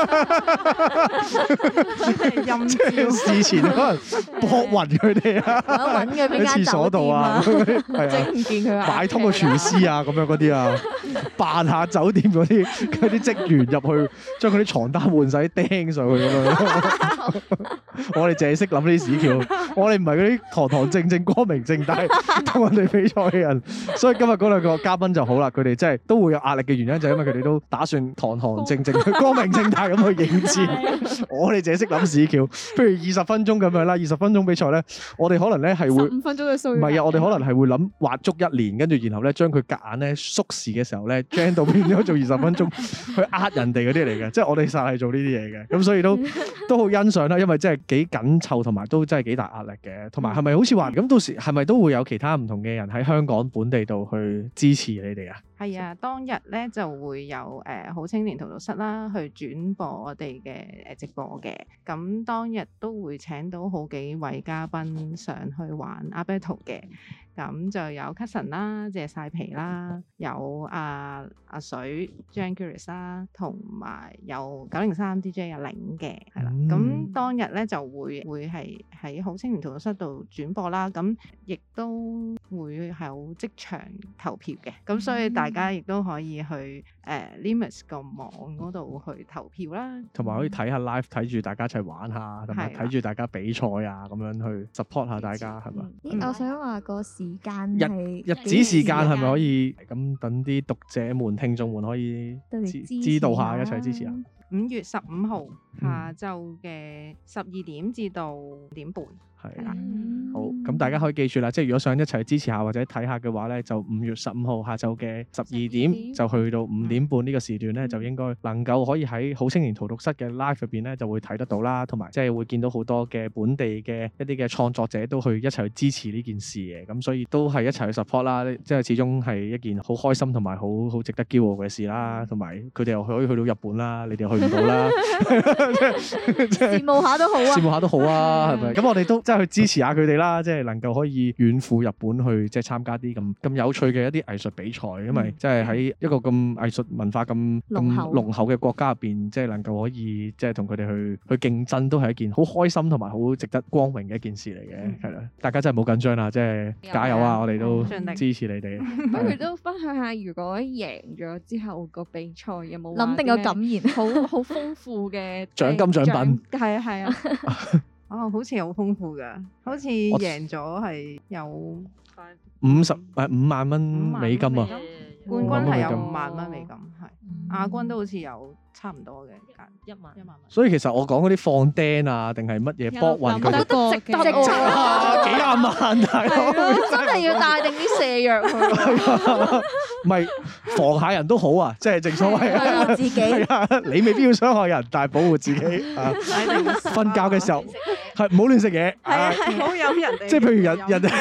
陰招。
事前可能搏暈佢哋啊，喺廁所度啊，係啊，
唔見佢
買通個廚師啊，咁樣嗰啲啊，扮下酒店嗰啲職員入去，將佢啲床單換晒啲釘上去咁樣。我哋淨係識諗呢啲屎橋，我哋唔係嗰啲堂堂正正、光明正大同人哋比賽嘅人。所以今日嗰兩個嘉賓就好啦，佢哋真係都會有壓力嘅原因，就係因為佢哋都打算堂堂正正、光明正大咁去應戰。我哋淨係識諗屎橋，譬如20分鐘咁樣啦，20分鐘比賽咧，我哋可能咧係會
15分鐘嘅數，
唔係啊，我哋可能係會諗畫足1年，跟住然後咧將佢夾硬咧縮時嘅時候咧 ，gen 到變咗做20分鐘去呃人哋嗰啲嚟嘅，即係我哋實係做呢啲嘢嘅，咁所以都好欣賞啦，因為真係幾緊湊，同埋都真係幾大壓力嘅，同埋係咪好似話咁到時係咪都會有其他唔同嘅人喺香港本地度去支持你哋啊？
係啊，當日咧就會有好青年荼毒室啦，去轉播我哋嘅直播嘅。咁當日都會請到好幾位嘉賓上去玩阿 Battle 嘅。咁就有 Cousin 啦，謝晒皮啦，有阿水 Jan Curious 啦，同埋有903 DJ 阿玲嘅，係啦。咁當日咧就會係喺好青年荼毒室度轉播啦。咁亦都會有即場投票嘅。咁所以大家亦都可以去Limits 個網嗰度去投票啦，同埋
可以睇下 live， 睇住大家一齊玩下，同埋睇住大家比賽啊，咁樣去 support 下大家，係咪？
我想話個時間
日子時間係咪可以咁等啲讀者們、聽眾們可以知道下，一齊支持下。
5月15號下晝嘅12點至到5點半。係啦，
好，咁大家可以記住啦，即係如果想一齊支持下或者睇下嘅話咧，就5月15號下晝嘅12點就去到5點半呢個時段咧，就應該能夠可以喺好青年荼毒室嘅 live 入邊咧就會睇得到啦，同埋即係會見到好多嘅本地嘅一啲嘅創作者都去一齊去支持呢件事嘅，咁所以都係一齊去 support 啦，即係始終係一件好開心同埋好值得驕傲嘅事啦，同埋佢哋又可以去到日本啦，你哋又去唔到啦，
羨慕下都好啊，
羨慕下都好啊，係咪？咁我哋都即係去支持下佢哋啦，即係能夠可以遠赴日本去即係參加啲咁有趣嘅一啲藝術比賽，因為即係喺一個咁藝術文化咁濃厚嘅國家入邊，即係能夠可以即係同佢哋去競爭，都係一件好開心同埋好值得光榮嘅一件事嚟嘅，係啦。大家真係唔好緊張啦，即係加油啊！我哋都支持你哋。
不如都分享下，如果贏咗之後個比賽有冇
諗定個感言？
好豐富嘅
獎金獎品。
係啊。
好似好豐富㗎，好似贏咗係有
5萬蚊美金啊！
冠軍係有5萬蚊美金，係亞軍都好似有差唔多嘅價，1萬蚊。
所以其實我講嗰啲放釘啊，定係乜嘢搏運佢哋
值得
幾廿萬大佬，
真係要帶定啲瀉藥去。
唔係防下人都好啊，即係正所謂
保護自己。
你未必要傷害人，但係保護自己啊。瞓覺嘅時候係唔好亂食嘢，
唔好飲人哋。
即係譬如人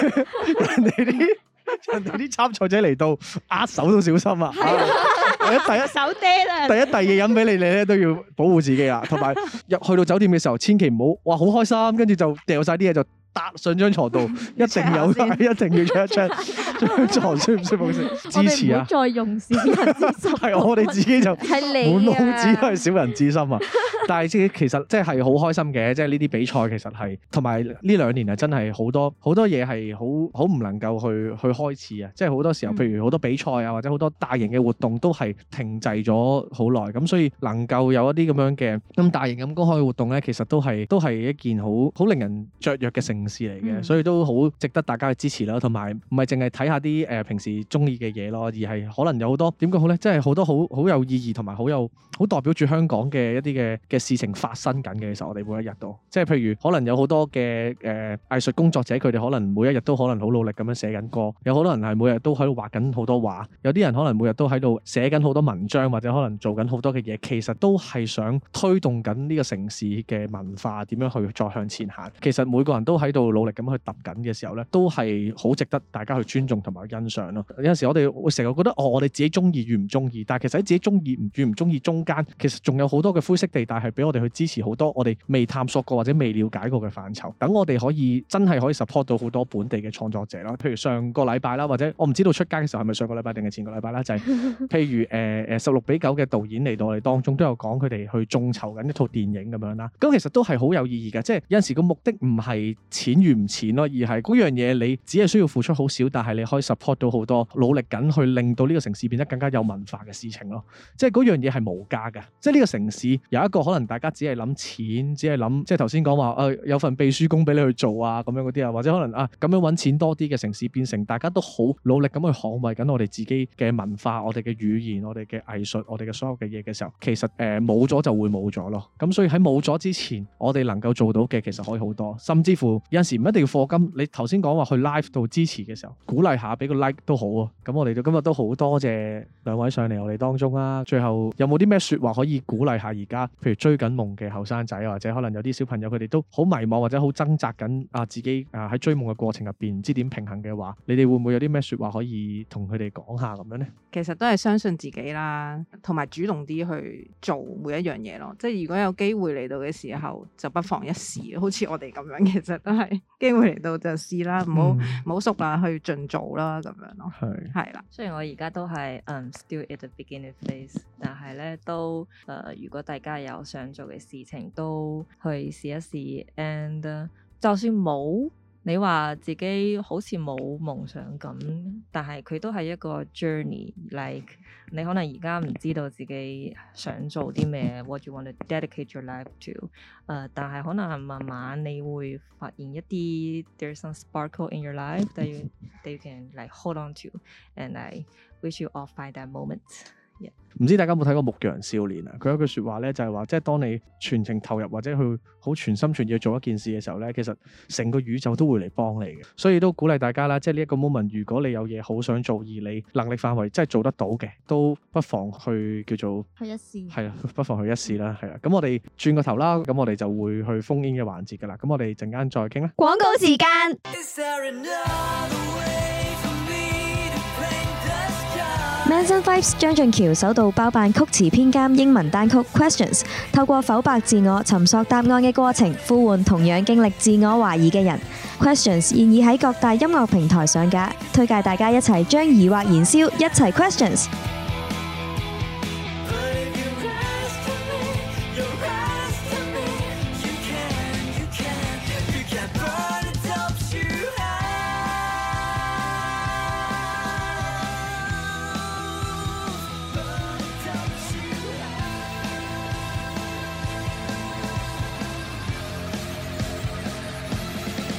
哋啲參賽者嚟到握手都小心啊！第一
手嗲啦，
第二嘢飲俾你咧都要保護自己啦，同埋去到酒店嘅時候，千祈唔好哇好開心，跟住就掉晒啲嘢就搭上張床度，一定要 check 一 check 張床舒唔舒服先。支持啊！
再用小人之心，
係我哋自己就
係你
滿腦子都係小人之心啊！但係其實即係好開心嘅，即係呢啲比賽其實係同埋呢2年係真係好多嘢係好唔能夠去開始啊！即係好多時候，譬如好多比賽啊，或者好多大型嘅活動都係停滯咗好耐，咁所以能夠有一啲咁樣嘅咁大型咁公開嘅活動咧，其實都係一件好令人雀躍嘅盛事嚟嘅，所以都好值得大家去支持啦。同埋唔係淨係睇下啲平時中意嘅嘢咯，而係可能有好多點講好咧，即係好多好有意義同埋好代表住香港嘅一啲嘅事情發生緊嘅。其實我哋每一日都即係譬如可能有好多嘅藝術工作者，佢哋可能每一日都可能好努力咁樣寫緊歌，有好多人係每日都喺度畫緊好多畫，有啲人可能每日都喺度寫緊好多文章，或者可能做緊好多嘅嘢，其實都係想推動緊呢個城市嘅文化點樣去再向前行。其實每個人都喺度努力咁去揼緊嘅時候咧，都係好值得大家去尊重同埋欣賞咯。有陣時我哋會成日覺得我哋自己中意與唔中意，但係其實喺自己中意與唔中意中間，其實仲有好多嘅灰色地帶係俾我哋去支持好多我哋未探索過或者未了解過嘅範疇，等我哋可以真係可以 support 到好多本地嘅創作者啦。譬如上個禮拜啦，或者我唔知道出街嘅時候係咪上個禮拜定係前個禮拜啦，就係譬如16:9嘅導演嚟到我哋當中都有講佢哋去眾籌緊一套電影咁樣啦。咁其實都係好有意義嘅，即係有陣時個目的唔係錢與唔錢咯，而係嗰樣嘢你只係需要付出好少，但係你可以 support 到好多努力緊去令到呢個城市變得更加有文化嘅事情咯。即係嗰樣嘢係無價㗎，即係呢個城市有一個可能大家只係諗錢，只係諗即係頭先講話有份秘書工俾你去做啊咁樣嗰啲啊，或者可能咁樣揾錢多啲嘅城市，變成大家都好努力咁去捍衛緊我哋自己嘅文化、我哋嘅語言、我哋嘅藝術、我哋嘅所有嘅嘢嘅時候，其實冇咗就會冇咗咯。咁所以喺冇咗之前，我哋能夠做到嘅其實可以好多，甚至乎有陣時唔一定要課金。你頭先講話去 live 度支持嘅時候，鼓勵下俾個 like 都好啊。咁我哋今日都好多謝兩位上嚟我哋當中啦。最後有冇啲咩說話可以鼓勵下而家譬如追緊夢嘅後生仔，或者可能有啲小朋友佢哋都好迷茫或者好掙扎緊自己喺追夢嘅過程入邊唔知點平衡嘅話，你哋會唔會有啲咩說話可以同佢哋講下咁樣呢？
其實都係相信自己啦，同埋主動啲去做每一樣嘢咯。即係如果有機會嚟到嘅時候，就不妨一試。好似我哋咁樣，其實都係機會嚟到就試啦，唔好縮啦，去盡做啦咁樣咯。係啦。雖然我而家都係still at the beginning phase， 但係咧都如果大家有想做嘅事情，都去試一試。And 就算冇你話自己好似冇夢想咁，但係佢都係一個 journey。Like 你可能而家唔知道自己想做啲咩，what you want to dedicate your life to。但係可能慢慢你會發現一啲 there's some sparkle in your life that you can like hold on to，and I wish you all find that moment。
唔知大家有冇睇過《牧羊少年》啊？佢有句說話咧，就係話，即係當你全情投入或者去好全心全意去做一件事嘅時候咧，其實成個宇宙都會嚟幫你嘅。所以都鼓勵大家啦，即係呢一個 moment，如果你有嘢好想做，而你能力範圍真係做得到嘅，都不妨去叫做
去一試。
係啊，不妨去一試啦，係啦。咁我哋轉個頭啦，咁我哋就會去phone in嘅環節噶啦。咁我哋陣間再傾啦。
廣告時間。Manson Vibes 張俊橋首度包辦曲詞編監英文單曲 Questions， 透過剖白自我、尋索答案嘅過程，呼喚同樣經歷自我懷疑嘅人。Questions 現已喺各大音樂平台上架，推介大家一齊將疑惑燃燒，一齊 Questions。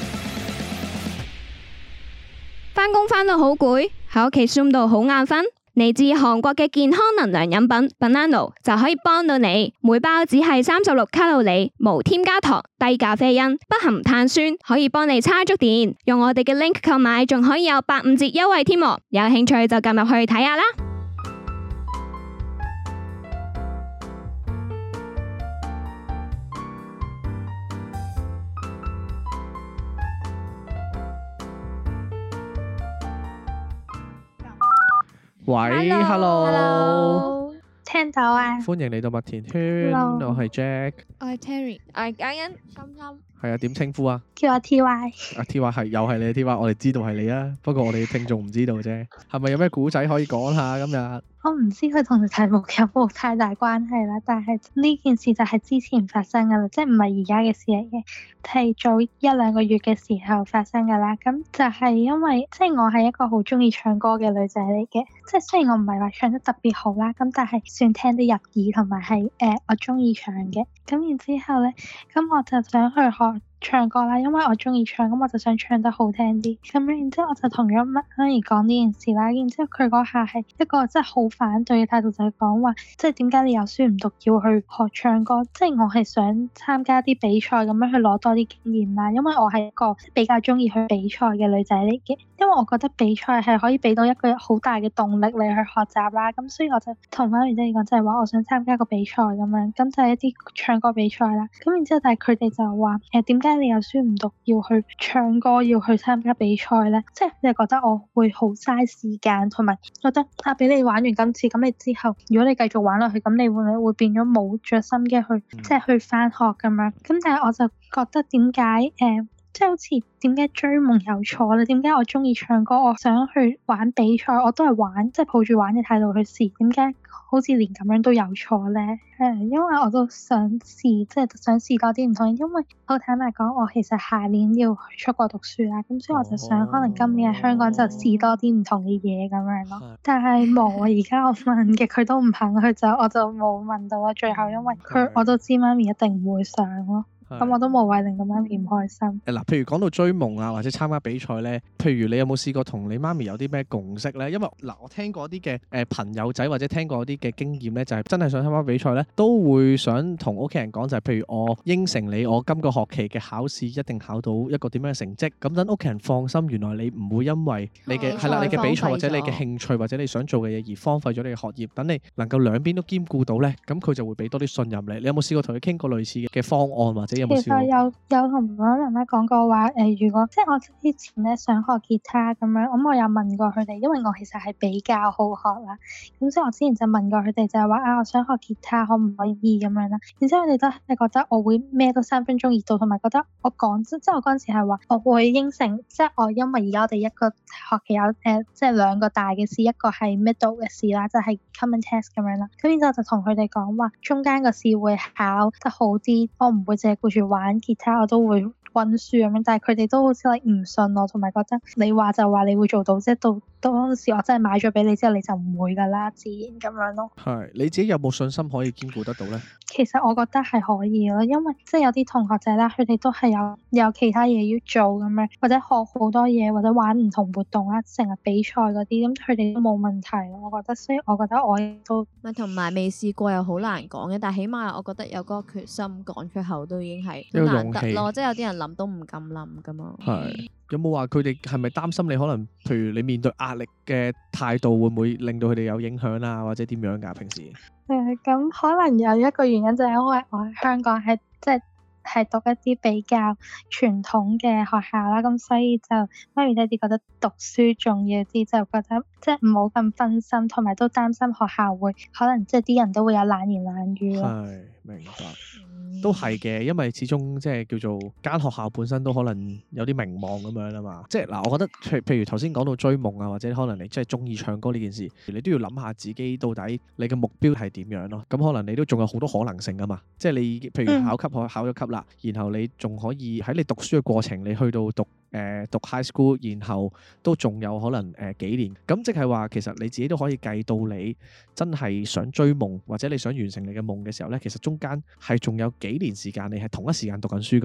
返工返到好攰，喺屋企 Zoom 到好眼瞓， 嚟自韓國嘅健康能量飲品 Banano 就可以幫到你，每包只係36卡路里，無添加糖，低咖啡因，不含碳酸，可以幫你叉足電。用我哋嘅 link 購買，仲可以有85折優惠添。有興趣就撳入去睇下啦。
喂 ，Hello，
聽到啊！
歡迎嚟到麥田圈，我係 Jack，
我係 Terry，
我係嘉欣，
心心
係啊，點稱呼啊？
叫我 TY。
啊 TY 係又係你 TY，我哋知道係你啊，不過我哋聽眾唔知道啫。係咪有咩古仔可以講下今日？
我唔知佢同題目有冇太大關係啦，但係呢件事就係之前發生噶啦，即係唔係而家嘅事嚟嘅，係早1-2個月嘅時候發生噶啦。咁就係因為即係我係一個好中意唱歌嘅女仔嚟嘅，即係雖然我唔係話唱得特別好啦，咁但係算聽得入耳，同埋係我中意唱嘅。咁然之後咧，咁我就想去學唱歌啦，因為我中意唱，咁我就想唱得好聽啲。咁然之後我就同咗媽咪講呢件事啦。然之後佢嗰下係一個真係好反對嘅態度，就係講話，即係點解你又書唔讀要去學唱歌？即係我係想參加啲比賽咁樣去攞多啲經驗啦。因為我係一個比較中意去比賽嘅女仔嚟嘅，因為我覺得比賽係可以俾到一個好大嘅動力你去學習啦。咁所以我就同媽咪講，就係話我想參加個比賽咁樣，咁就係一啲唱歌比賽啦。咁然之後但係佢哋就話點解你又書唔讀要去唱歌，要去參加比賽咧？即係你覺得我會好嘥時間，同埋覺得俾你玩完今次，咁你之後如果你繼續玩落去，咁你會唔會變咗冇着心機去即係去返學咁樣？咁但係我就覺得點解即係好似點解追夢有錯咧？點解我中意唱歌，我想去玩比賽，我都係玩，即係抱住玩嘅態度去試，點解好似連咁樣都有錯咧？因為我都想試，即係想試多啲唔同嘅，因為好坦白講，我其實下年要出國讀書啦，咁所以我就想可能今年喺香港就試多啲唔同嘅嘢咁樣咯。但係冇啊，而家我問嘅佢都唔肯，我就冇問到啊。最後因為我都知媽咪一定唔會上咯。咁我都無謂令到媽咪唔開心。嗱，
譬如講到追夢啊，或者參加比賽咧，譬如你有冇試過同你媽咪有啲咩共識咧？因為我聽過啲嘅朋友仔或者聽過啲嘅經驗咧，就係真係想參加比賽咧，都會想同屋企人講，就係譬如我應承你，我今個學期嘅考試一定考到一個點樣嘅成績，咁等屋企人放心，原來你唔會因為你嘅係啦，你嘅比賽或者你嘅興趣或者你想做嘅嘢而荒廢咗你嘅學業，等你能夠兩邊都兼顧到咧，咁佢就會俾多啲信任你。你有冇試過同佢傾過類似嘅方案或者？
其實有同我媽媽講過話，如果即係我之前咧想學吉他咁樣，咁我有問過佢哋，因為我其實係比較好學啦，咁所以我之前就問過佢哋，就係話我想學吉他可唔可以咁樣啦，然之後佢哋都係覺得我會咩都3分鐘熱度，同埋覺得我講即係我嗰陣時係話我會應承，即係我因為而家我哋一個學期有即係2個大嘅試，一個係 middle 嘅試啦，就係 common test 咁樣啦，咁然之後就同佢哋講話中間個試會考得好啲，我唔會淨係顧住玩吉他，我都會溫書咁樣，但係佢哋都好似唔信我，同埋覺得你話就話你會做到，即係到當時我真係買咗俾你之後，你就唔會噶啦，自然咁樣咯。
係你自己有冇信心可以兼顧得到咧？
其實我覺得係可以咯，因為即係有啲同學仔啦，佢哋都係有其他嘢要做咁樣，或者學好多嘢，或者玩唔同活動啦，成日比賽嗰啲，咁佢哋都冇問題咯。我覺得，所以我覺得我都
同埋未試過又好難講嘅，但係起碼我覺得有嗰個決心講出口都已經係好難得咯。即係有啲人諗都唔敢諗噶嘛。
係有冇話佢哋係咪擔心你可能，譬如你面對壓力嘅態度會唔會令到佢哋有影響啊，或者點樣㗎？平時
咁可能有一個原因就係因為我喺香港係即係讀一啲比較傳統嘅學校啦，咁所以就媽咪爹哋覺得讀書重要啲，就覺得即係唔好咁分心，同埋都擔心學校會可能即係啲人都會有冷言冷語咯。
係，明白，都係嘅，因為始終即係叫做間學校本身都可能有啲名望咁樣啊嘛。即係嗱，我覺得譬如頭先講到追夢啊，或者可能你即係中意唱歌呢件事，你都要諗下自己到底你嘅目標係點樣咯。咁可能你都仲有好多可能性噶嘛。即係你譬如考級考咗級啦，然後你仲可以喺你讀書嘅過程，你去到讀 high school，然後都仲有可能幾年。咁即係話其實你自己都可以計到你真係想追夢或者你想完成你嘅夢嘅時候咧，其實中間係仲有幾年時間你係同一時間讀緊書噶嘛，係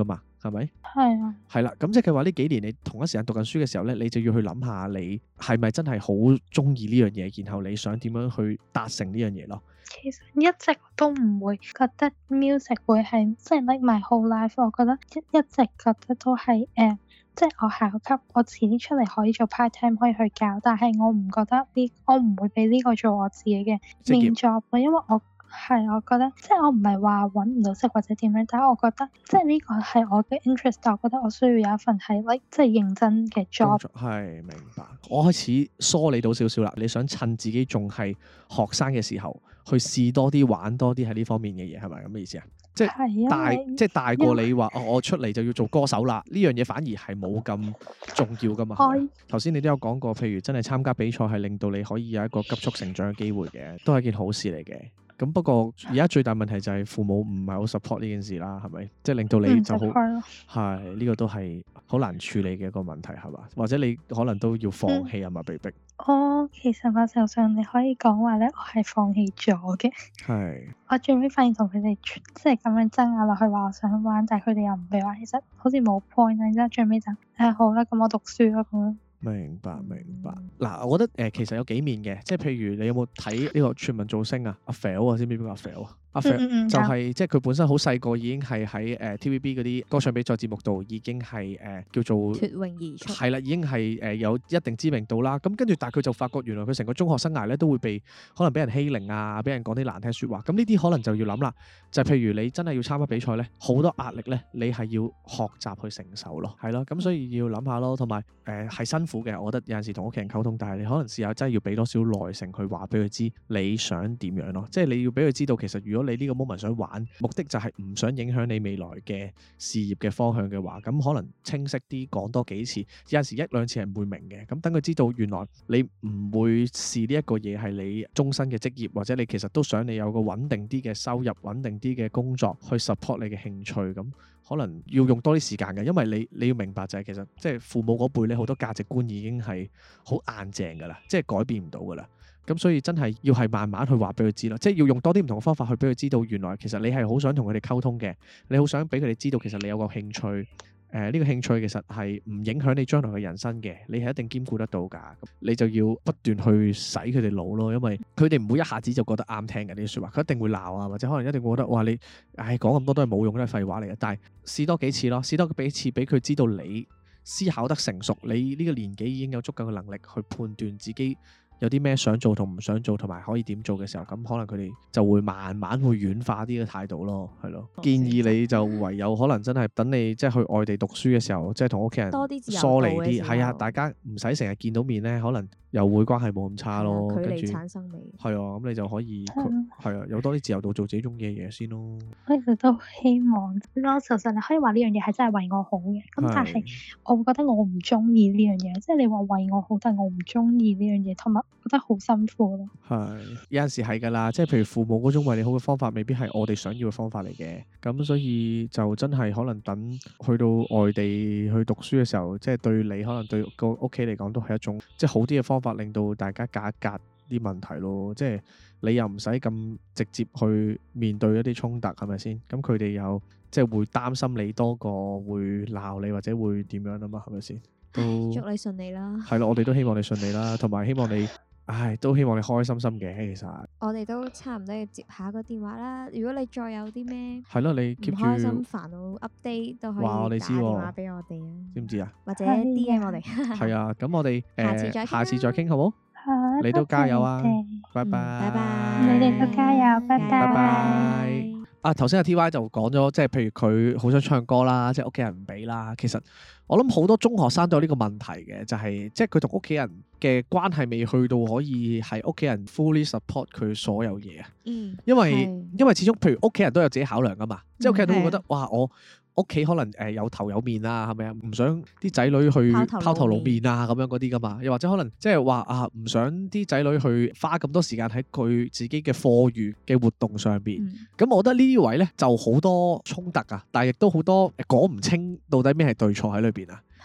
係咪？
係啊。
係啦，咁即係話呢幾年你同一時間讀緊書嘅時候咧，你就要去諗下你係咪真係好中意呢樣嘢，然後你想點樣去達成呢樣嘢咯。
其實一直都唔會覺得 music 會係即係 like my whole life， 我覺得一直覺得都係即係我考級，我遲啲出嚟可以做 part time 可以去教，但係我唔覺得我唔會俾呢個做我自己嘅 main job 咯，因為我覺得即係我唔係話揾唔到食或者點樣，但係我覺得即係呢個係我嘅 interest， 但我覺得我需要有一份係 like 即係認真嘅 job。係，明白。
我開始梳理到少少啦，你想趁自己仲係學生嘅時候去試多啲玩多啲喺呢方面嘅嘢，係咪咁嘅意思啊？即係大過你話我出嚟就要做歌手啦，呢樣嘢反而係冇咁重要噶嘛。頭先你都有講過，譬如真係參加比賽係令到你可以有一個急速成長嘅機會嘅，都係一件好事嚟嘅。咁不過而家最大問題就係父母唔係好 support 呢件事啦，係咪？即係令到你就好係呢個都係好難處理嘅一個問題，係嘛？或者你可能都要放棄啊嘛，被逼。
其實某程度上你可以講話咧，我係放棄咗嘅。係。我最尾發現同佢哋即係咁樣爭拗落去，話我想玩，但係佢哋又唔俾玩，其實好似冇 point 啊。然之後最尾就好啦，咁我讀書咯咁樣。
明白。嗱，我覺得其實有幾面嘅，即係譬如你有冇睇呢個全民造星啊？阿 Phil 啊，知唔知邊個阿 Phil 啊？阿 Phil 就係即係佢本身好細個已經係喺TVB 嗰啲歌唱比賽節目度已經係叫做脫穎而出，係啦，已經係有一定知名度啦。咁跟住，但係佢就發覺原來佢成個中學生涯咧都會可能俾人欺凌啊，俾人講啲難聽説話。咁呢啲可能就要諗啦，就係譬如你真係要參加比賽咧，好多壓力咧，你係要學習去承受咯，係咯。咁所以要諗下咯，同埋係辛苦嘅。我覺得有陣時同屋企人溝通，但係你可能試下真係要俾多少耐性去話俾佢知你想點樣咯。即係你要俾佢知道，其實如果你呢個 moment 想玩，目的就係唔想影響你未來嘅事業嘅方向嘅話，咁可能清晰啲講多幾次，有陣時一兩次係唔會明嘅。咁等佢知道原來你唔會視呢一個嘢係你終身嘅職業，或者你其實都想你有個穩定啲嘅收入、穩定啲嘅工作去 support 你嘅興趣。咁可能要用多啲時間嘅，因為你要明白就係其實即係父母嗰輩咧，好多價值觀已經係好硬淨噶啦，即係改變唔到噶啦。咁所以真係要係慢慢去話俾佢知咯，即係要用多啲唔同嘅方法去俾佢知道，原來其實你係好想同佢哋溝通嘅，你好想俾佢哋知道其實你有個興趣，呢個興趣其實係唔影響你將來嘅人生嘅，你係一定兼顧得到㗎。你就要不斷去洗佢哋腦咯，因為佢哋唔會一下子就覺得啱聽嘅呢啲説話，佢一定會鬧啊，或者可能一定會覺得哇你講咁多都係冇用，都係廢話嚟嘅。但係試多幾次咯，試多幾次俾佢知道你思考得成熟，你呢個年紀已經有足夠嘅能力去判斷自己有啲咩想做同唔想做，同埋可以點做嘅時候，咁可能佢哋就會慢慢會軟化啲嘅態度咯，係咯。建議你就唯有可能真係等你即係去外地讀書嘅時候，即係同屋企人疏離啲，係啊，大家唔使成日見到面咧，可能又會關係冇咁差咯。
距離產生美。係
啊，咁你就可以係啊，有多啲自由度做自己中意嘅嘢先咯。
我其實都希望，我其實你可以話呢樣嘢係真係為我好嘅，咁但係我會覺得我唔中意呢樣嘢，即係你話為我好，但係我唔中意呢樣嘢，同埋覺得好辛苦咯。係
有陣時係㗎啦，即係譬如父母嗰種為你好嘅方法，未必係我哋想要嘅方法嚟嘅。咁所以就真係可能等去到外地去讀書嘅時候，即係對你可能對個屋企嚟講都係一種即係好啲嘅方法，令到大家隔一隔啲問題咯。即係你又唔使咁直接去面對一啲衝突，係咪先？咁佢哋又即係會擔心你多過會鬧你或者會點樣啊嘛？係咪先？
祝你順利啦。
係咯，我哋都希望你順利啦，同埋希望你。都希望你開開心心嘅，其實
我哋都差唔多要接下個電話啦。如果你再有啲咩
係咯，你 keep 住
唔開心、煩惱 update 都可以打電話俾我哋啊。
知唔知啊？
或者 DM 我哋。
係啊，咁我哋下次再傾好冇？
好，
你都加油啊！拜拜，
拜拜，
你哋都加油，拜
拜。頭先阿 TY 就講咗，即係譬如佢好想唱歌啦，即係屋企人唔俾啦。其實我諗好多中學生都有呢個問題嘅，就係即係佢同屋企人嘅關係未去到可以係屋企人 fully support 佢所有嘢啊。因為始終譬如屋企人都有自己考量噶嘛，即係屋企人都會覺得哇我屋企可能有頭有面啊，係咪啊？唔想啲仔女去拋頭露面啊，咁樣嗰啲噶嘛。又或者可能即係話唔想啲仔女去花咁多時間喺佢自己嘅課餘嘅活動上邊。咁我覺得呢啲位咧就好多衝突啊，但係亦都好多講唔清到底咩係對錯喺裏邊啊。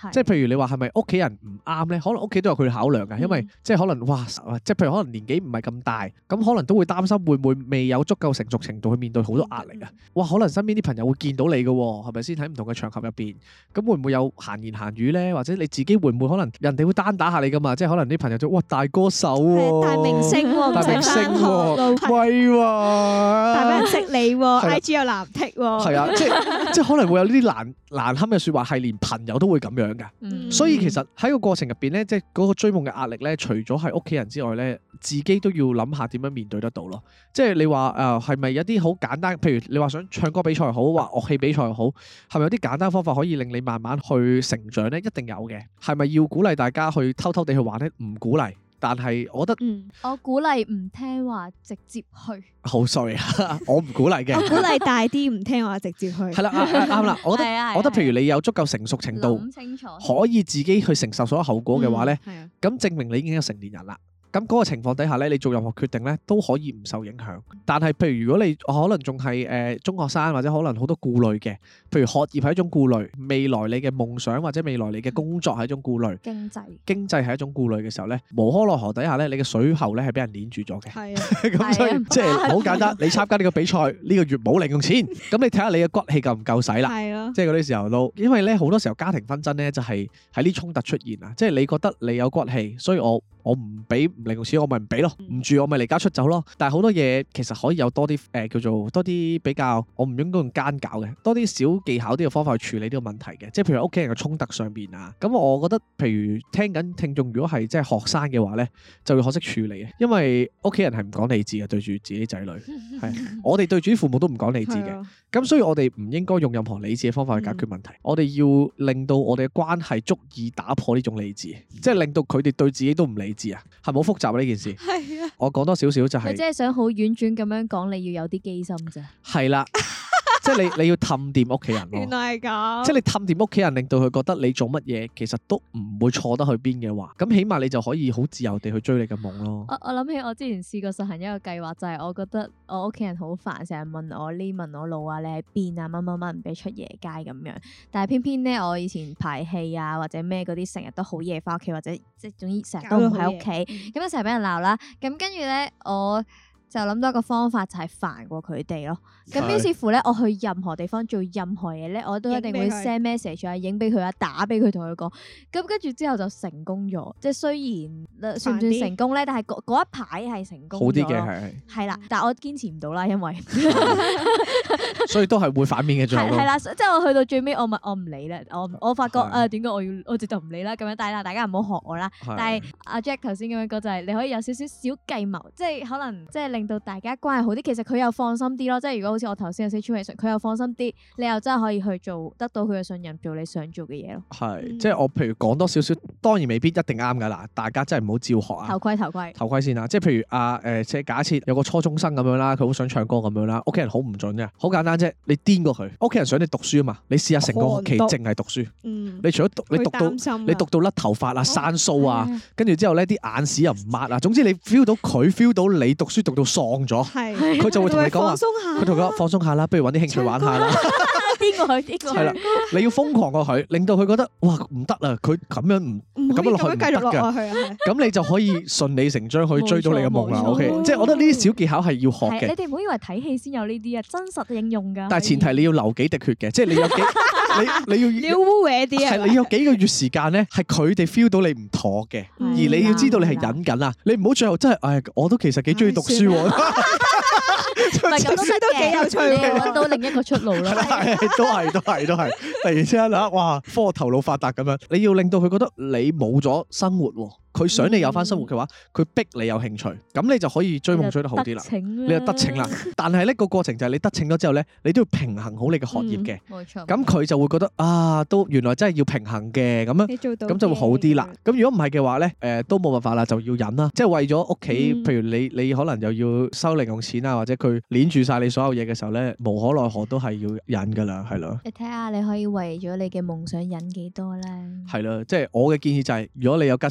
即係譬如你話係咪屋企人唔啱咧？可能屋企都有佢考量嘅，因為即係可能哇，即係譬如可能年紀唔係咁大，咁可能都會擔心會唔會未有足夠成熟程度去面對好多壓力啊！哇，可能身邊啲朋友會見到你嘅喎，係咪先？喺唔同嘅場合入邊，咁會唔會有閒言閒語咧？或者你自己會唔會可能人哋會單打下你噶嘛？即係可能啲朋友就哇大歌手喎，
大明星喎，
大明星喎，威喎，
大俾人識你喎，IG 有藍剔喎，
係啊，即係可能會有呢啲難堪嘅説話，係連朋友都會咁樣㗎。所以其實喺個過程入邊咧，即係嗰個追夢嘅壓力咧，除咗係屋企人之外咧，自己都要諗下點樣面對得到咯。即係你話係咪有啲好簡單？譬如你話想唱歌比賽好，或樂器比賽好，係咪有啲簡單方法可以令你慢慢去成長咧？一定有嘅。係咪要鼓勵大家去偷偷地去玩咧？唔鼓勵。但係我覺得，
我鼓勵唔聽話直接去。
好 sorry 啊，我唔鼓勵嘅。
我鼓勵大啲唔聽話直接去。係
啦，啱啦。我覺得譬如你有足夠成熟程度，可以自己去承受所有後果嘅話咧，咁證明你已經係成年人啦。咁嗰個情況底下咧，你做任何決定咧都可以唔受影響。但係譬如如果你可能仲係中學生，或者可能好多顧慮嘅，譬如學業係一種顧慮，未來你嘅夢想或者未來你嘅工作係一種顧慮，經濟係一種顧慮嘅時候咧，無可奈何底下咧，你嘅水喉咧係俾人捏住咗嘅。係啊，咁所以即係好簡單，你參加呢個比賽呢個月冇零用錢，咁你睇下你嘅骨氣夠唔夠使啦。係啊，即係嗰啲時候都，因為咧好多時候家庭紛爭咧就係喺呢衝突出現啊，即係你覺得你有骨氣，所以我唔俾零用錢，我咪唔俾咯，唔住我咪離家出走咯。但係好多嘢其實可以有多啲叫做多啲比較，我唔應該用奸狡嘅，多啲小技巧啲嘅方法去處理呢個問題嘅。即係譬如屋企人嘅衝突上邊啊，咁我覺得譬如聽緊聽眾如果係即係學生嘅話咧，就要學識處理嘅，因為屋企人係唔講理智嘅，對住自己仔女係我哋對住父母都唔講理智嘅。咁所以我哋唔應該用任何理智嘅方法去解決問題，我哋要令到我哋嘅關係足以打破呢種理智，即係令到佢哋對自己都唔理智啊，係咪好複雜啊呢件事？係啊，我講多少少就係，
你即係想好婉轉咁樣講，你要有啲機心啫。係
啦。即係你要氹掂屋企人咯，
原來係咁。
即係你氹掂屋企人，令到佢覺得你做乜嘢其實都唔會錯得去邊嘅話，咁起碼你就可以好自由地去追你嘅夢咯。
我諗起我之前試過實行一個計劃，就係我覺得我屋企人好煩，成日問我呢問我路啊，你喺邊啊，乜乜乜唔俾出夜街咁樣。但係偏偏咧，我以前排戲啊或者咩嗰啲，成日都好夜翻屋企，或者即係總之成日都唔喺屋企，咁樣成日俾人鬧啦。咁跟住咧我就諗到一個方法，就係煩過佢哋咯。咁於是乎咧，我去任何地方做任何嘢咧，我都一定會 send message 啊，影俾佢啊，打俾佢，同佢講。咁跟住之後就成功咗。即係雖然算唔算成功咧，但係嗰一排係成功咗。好啲嘅係啦，但係我堅持唔到啦，因為
所以都係會反面嘅最後。係啦，
即係我去到最尾，我唔理啦。我發覺點解我直頭唔理啦？咁樣，但係大家唔好學我啦。但係阿 Jack 頭先咁樣講就係，你可以有少少小計謀，即係可能即係令到大家關係好啲。其實佢又放心啲咯。即係如果好似我頭先嘅 situation，佢又放心啲，你又真係可以去做得到佢嘅信任，做你想做嘅嘢咯。
係，即係我譬如講多少少，當然未必一定啱㗎啦。大家真係唔好照學啊。頭盔先啦。即係譬如即係假設有個初中生咁樣啦，佢好想唱歌咁樣啦，屋企人好唔準嘅，好簡單啫。你癲過佢，屋企人想你讀書啊嘛，你試下成個學期淨係讀書。你除咗你讀到甩頭髮啊、生鬚啊，跟住之後咧啲眼屎又唔抹啊，總之你 feel 到佢 feel 到你讀書讀到喪咗，佢就會同你講話，佢同佢講放鬆下啦，不如揾啲興趣玩下啦。
癲過佢，
係啦，你要瘋狂過佢，令到佢覺得哇唔得啦，佢咁樣咁樣落去唔得㗎。咁你就可以順理成章去追到你嘅夢啦。OK，即係我覺得呢啲小技巧係要學嘅。
你哋唔好以為睇戲先有呢啲啊，真實應用㗎。
但係前提你要流幾滴血嘅，即係你有幾你要
污穢啲啊。
係你有幾個月時間咧，係佢哋 feel 到你唔妥嘅，而你要知道你係忍緊啊，你唔好最後真係我都其實幾中意讀書喎。
唔係咁都幾有趣喎，揾到另一個出路啦。
都係。突然之間哇，科學頭腦發達咁樣，你要令到佢覺得你冇咗生活喎。佢想你有翻生活嘅話，佢逼你有興趣，咁你就可以追夢追得好啲啦。你就得逞啦。但係呢個過程就係你得逞咗之後咧，你都要平衡好你嘅學業嘅。冇錯。咁佢就會覺得都原來真係要平衡嘅咁樣，咁就會好啲啦。咁如果唔係嘅話咧，都冇辦法啦，就要忍啦。即係為咗屋企，譬如你可能又要收零用錢啊，或者佢捏住晒你所有嘢嘅時候咧，無可奈何都係要忍噶啦，係咯。
你睇下你可以為咗你嘅夢想忍幾多咧？
係咯，即係我嘅建議就係，如果你有吉士嘅，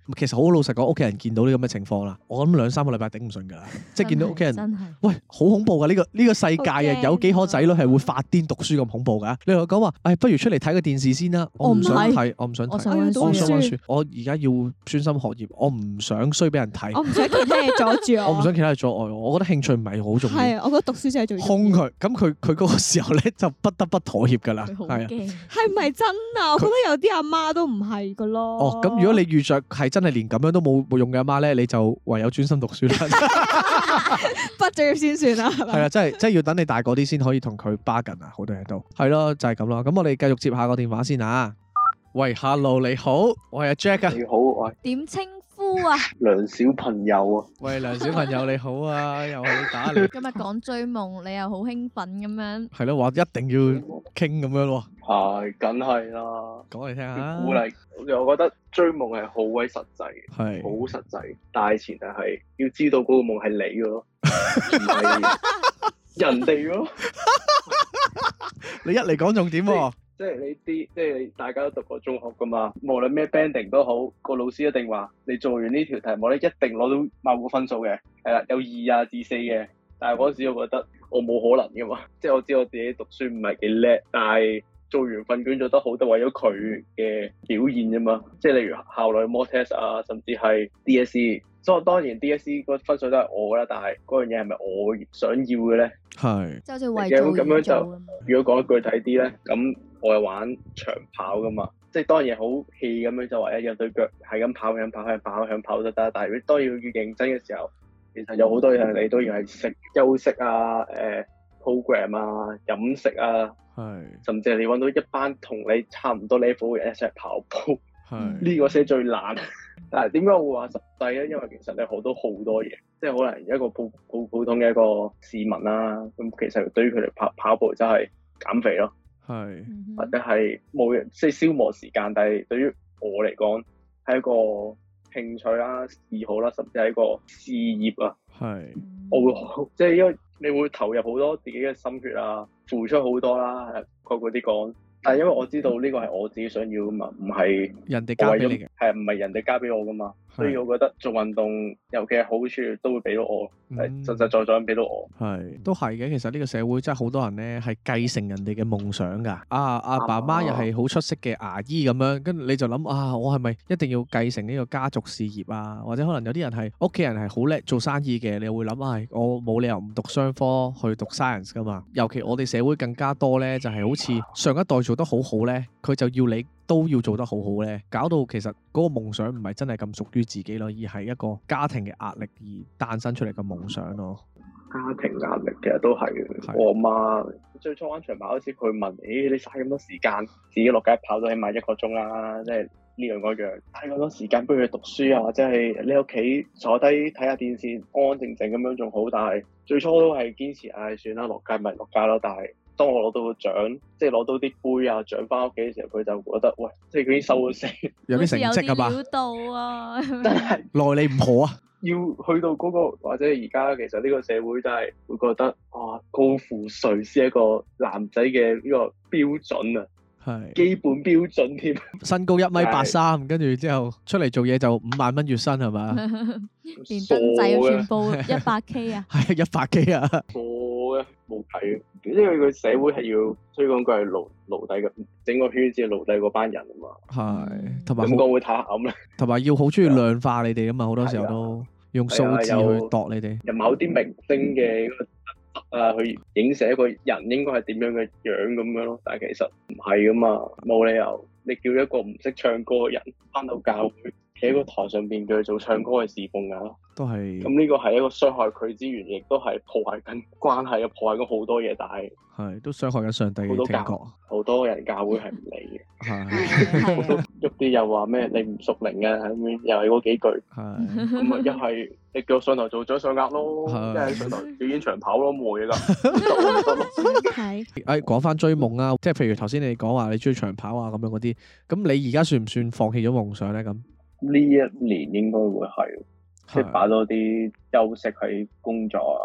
其實好老實講，屋企人見到呢咁嘅情況啦，我諗2-3個禮拜頂唔順㗎啦，即係見到屋企人，喂，好恐怖㗎呢個世界啊，有幾可仔女係會發癲讀書咁恐怖㗎？你同我講話，不如出嚟睇個電視先啦，我唔想睇，我唔想睇，我想溫書，我而家要專心學業，我唔想衰俾人睇，
我唔想其他嘢阻住我，
我唔想其他嘢阻礙我，我覺得興趣唔係好重要，
係啊，我覺得讀書先係最重要。
兇佢，咁佢嗰個時候咧就不得不妥協㗎啦，係啊，
係唔係真啊？我覺得有啲阿媽都唔係㗎咯。
哦，咁如果你遇着係真係連咁樣都冇用嘅阿媽咧，你就唯有專心讀書啦。
畢咗業先算啦，係嘛？
係啊，真係要等你大個啲先可以同佢 bargain啊，好多嘢都係咯，就係咁咯。咁我哋繼續接下個電話先啊。喂 ，Hello， 你好，我係阿 Jack 啊。
你好，我係
點稱呼啊？
梁小朋友啊。
喂，梁小朋友你好啊，又係打你。
今日講追夢，你又好興奮咁樣。
係咯，話一定要傾咁樣喎。
係，梗係啦。
講嚟聽下。
鼓勵，我覺得追夢係好鬼實際，
係
好實際。但係前提係要知道嗰個夢係你嘅咯，唔係人哋咯。
你一嚟講重點喎。
即係即係大家都讀過中學噶嘛，無論咩 banding 都好，個老師一定話你做完呢條題目咧，一定攞到某個分數嘅，係啦，有2至4嘅。但係嗰時我覺得我冇可能噶嘛，即係我知我自己讀書唔係幾叻，但係做完份卷做得好，都為咗佢嘅表現啫嘛。即係例如校內 mock test 啊，甚至係 DSE。所以當然 DSE 個分數都係我噶啦，但係嗰樣嘢係咪我想要嘅咧？
係。
就好似為做
咁樣就，
咁。
如果講得具體啲咧，咁我係玩長跑噶嘛，即係當然好 hea 咁樣就話有對腳係咁跑向跑就得，但係如果當要認真嘅時候，其實有好多嘢你都要係休息啊、program 啊、飲食啊，甚至係你揾到一班同你差唔多 level 嘅人一齊跑步，呢個先最難。但係點解我會話實際咧？因為其實你學到好多嘢，即係可能一個普通嘅一個市民啦，咁其實對於佢哋跑步真係減肥咯。係，或者係冇人即係消磨時間，但係對於我嚟講係一個興趣啦、嗜好啦，甚至係一個事業啊。係，我會即係因為你會投入好多自己嘅心血啊，付出好多啦，概括啲講。但係因為我知道呢個係我自己想要噶嘛，唔係
人哋交俾你嘅，
係唔係人哋交俾我噶嘛，所以我覺得做運動尤其係好處都會俾到我，係實實在在咁俾到我。係都係嘅，其實呢個社會真係好多人咧係繼承人哋嘅夢想㗎。阿爸媽又係好出色嘅牙醫咁樣，跟住你就諗啊，我係咪一定要繼承呢個家族事業啊？或者可能有啲人係屋企人係好叻做生意嘅，你會諗啊，我冇理由唔讀商科去讀 science 㗎嘛。尤其我哋社會更加多咧，就係好似上一代做得好好咧，佢就要你都要做得好好咧，搞到其實嗰個夢想唔係真係咁屬於自己咯，而係一個家庭嘅壓力而誕生出嚟嘅夢想咯。家庭壓力其實都係，我媽最初玩長跑嗰時，佢問：你嘥咁多時間，自己落街跑到起碼1個鐘啦，即係呢樣嗰樣，嘥咁多時間不如去讀書啊，或者係你屋企坐低睇下電視，安安靜靜咁樣仲好。但係最初都係堅持，算啦，落街咪落街咯。但係當我攞到個獎，即係攞到啲杯啊獎翻屋企嘅時候，佢就覺得喂，即係佢已經收咗聲，有啲成績啊嘛，料到啊，真係耐你唔可啊！要去到嗰個或者而家其實呢個社會真係會覺得高富帥先係一個男仔嘅呢個標準啊，係基本標準添。身高1.83米，跟住之後出嚟做嘢就5萬蚊月薪係嘛？
連燈仔要全部100K 啊！
係100K 啊！
傻嘅冇計，因為個社會係要推廣佢係奴隸嘅，整個圈子係奴隸嗰班人啊嘛。係，同埋咁講會太暗啦。同埋要好中意量化你哋啊嘛，好多時候都用數字去度你哋。有某啲明星嘅去影射一個人應該係點樣嘅樣咁樣咯，但係其實唔係噶嘛，冇理由你叫一個唔識唱歌嘅人返到教會，企喺個台上邊叫佢做唱歌嘅侍奉啊，都係咁呢個係一個傷害佢之餘，亦都係破壞緊關係啊，破壞緊好多嘢，但係都傷害緊上帝嘅聽覺。好多人教會係唔理嘅，係喐啲又話咩你唔屬靈啊咁樣，又係嗰幾句，係咁啊，一係你叫我上台做掌上壓咯，一係上台表演長跑咯，冇嘢噶，係講翻追夢啊，即係譬如頭先你講話你追長跑啊咁樣嗰啲，咁你而家算唔算放棄咗夢想咧？咁呢一年應該會係，即係擺多啲休息喺工作啊，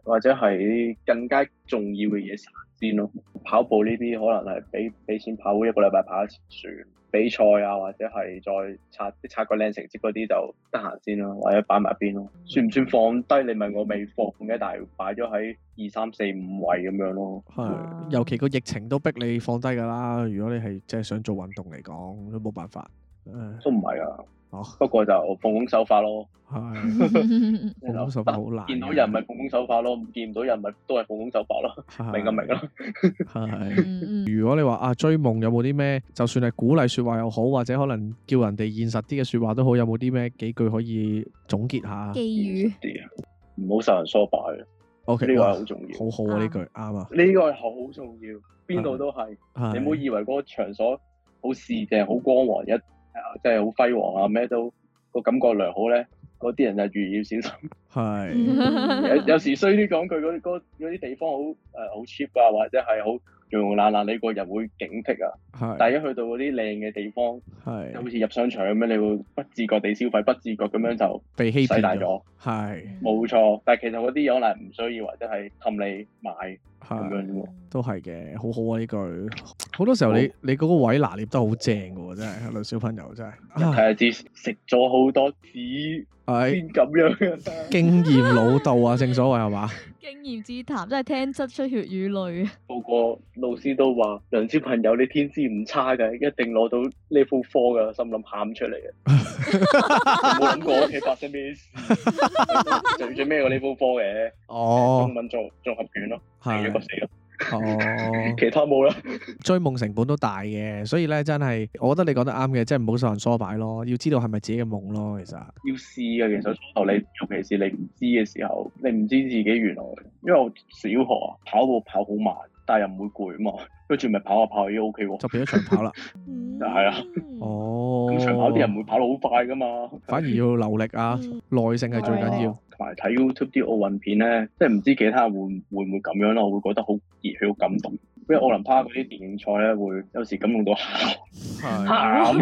或者係啲更加重要嘅嘢先咯。跑步呢啲可能係俾錢跑一個禮拜跑一次算。比賽啊，或者係再刷個靚成績嗰啲就得閒先咯，或者擺埋邊咯。算唔算放低？你問我未放嘅，但係擺咗喺2、3、4、5位咁樣咯。
係，尤其個疫情都逼你放低㗎啦。如果你係即係想做運動嚟講，都冇辦法。
都唔係啊。不過就奉公守法咯。
係，奉公守法好難。
見到人咪奉公守法咯，見唔到人咪都係奉公守法咯。明啦。
係。如果你話追夢有冇啲咩，就算係鼓勵説話又好，或者可能叫人哋現實啲嘅説話都好，有冇啲咩幾句可以總結下？
寄語。
唔好受人唆擺。
OK，
呢個係好重要。
好好啊，呢句啱啊。
呢個係好重要，邊度都係。你唔好以為嗰個場所好市正、好光黃即係好輝煌啊！咩都個感覺良好咧，嗰啲人就越要小心。係有時衰啲講句，嗰啲地方好 cheap 啊，或者係好溶溶爛爛，你個人會警惕啊。係。但係一去到嗰啲靚嘅地方，係好似入商場咁樣，你會不自覺地消費，不自覺咁樣就
被欺騙
洗大咗。係。冇錯，但係其實嗰啲嘢可能唔需要，或者係氹你買咁樣喎。都係嘅，好好啊呢句。好多時候你嗰個位拿捏得好正嘅喎，真係女小朋友真係。睇下知食咗好多紙先咁樣嘅。經驗老道啊，正所謂係嘛？
經驗之談真係聽得出血與淚啊！
個個老師都話：梁小朋友你天資唔差嘅，一定攞到level 4嘅，心諗喊出嚟嘅。冇諗過屋企發生咩事，最尾個level 4嘅。中文綜合卷咯，係一個死咯。其他冇啦。追夢成本都大嘅，所以咧真係，我覺得你講得啱嘅，即係唔好受人唆擺咯，要知道係咪自己嘅夢咯，其實要試嘅。其實初頭你，尤其是你唔知嘅時候，你唔知自己原來，因為我小學跑步跑好慢，但係又唔會攰啊嘛，跟住咪跑下跑下已經 OK 喎，就變咗長跑啦。就係啊。哦。咁長跑啲人唔會跑得好快噶嘛，反而要留力啊，耐性係最緊要。同埋睇 YouTube 啲奧運片咧，即係唔知其他人會唔會咁樣咯，我會覺得好熱血、好感動。因為奧林匹克嗰啲電競賽咧，會有時感動到喊。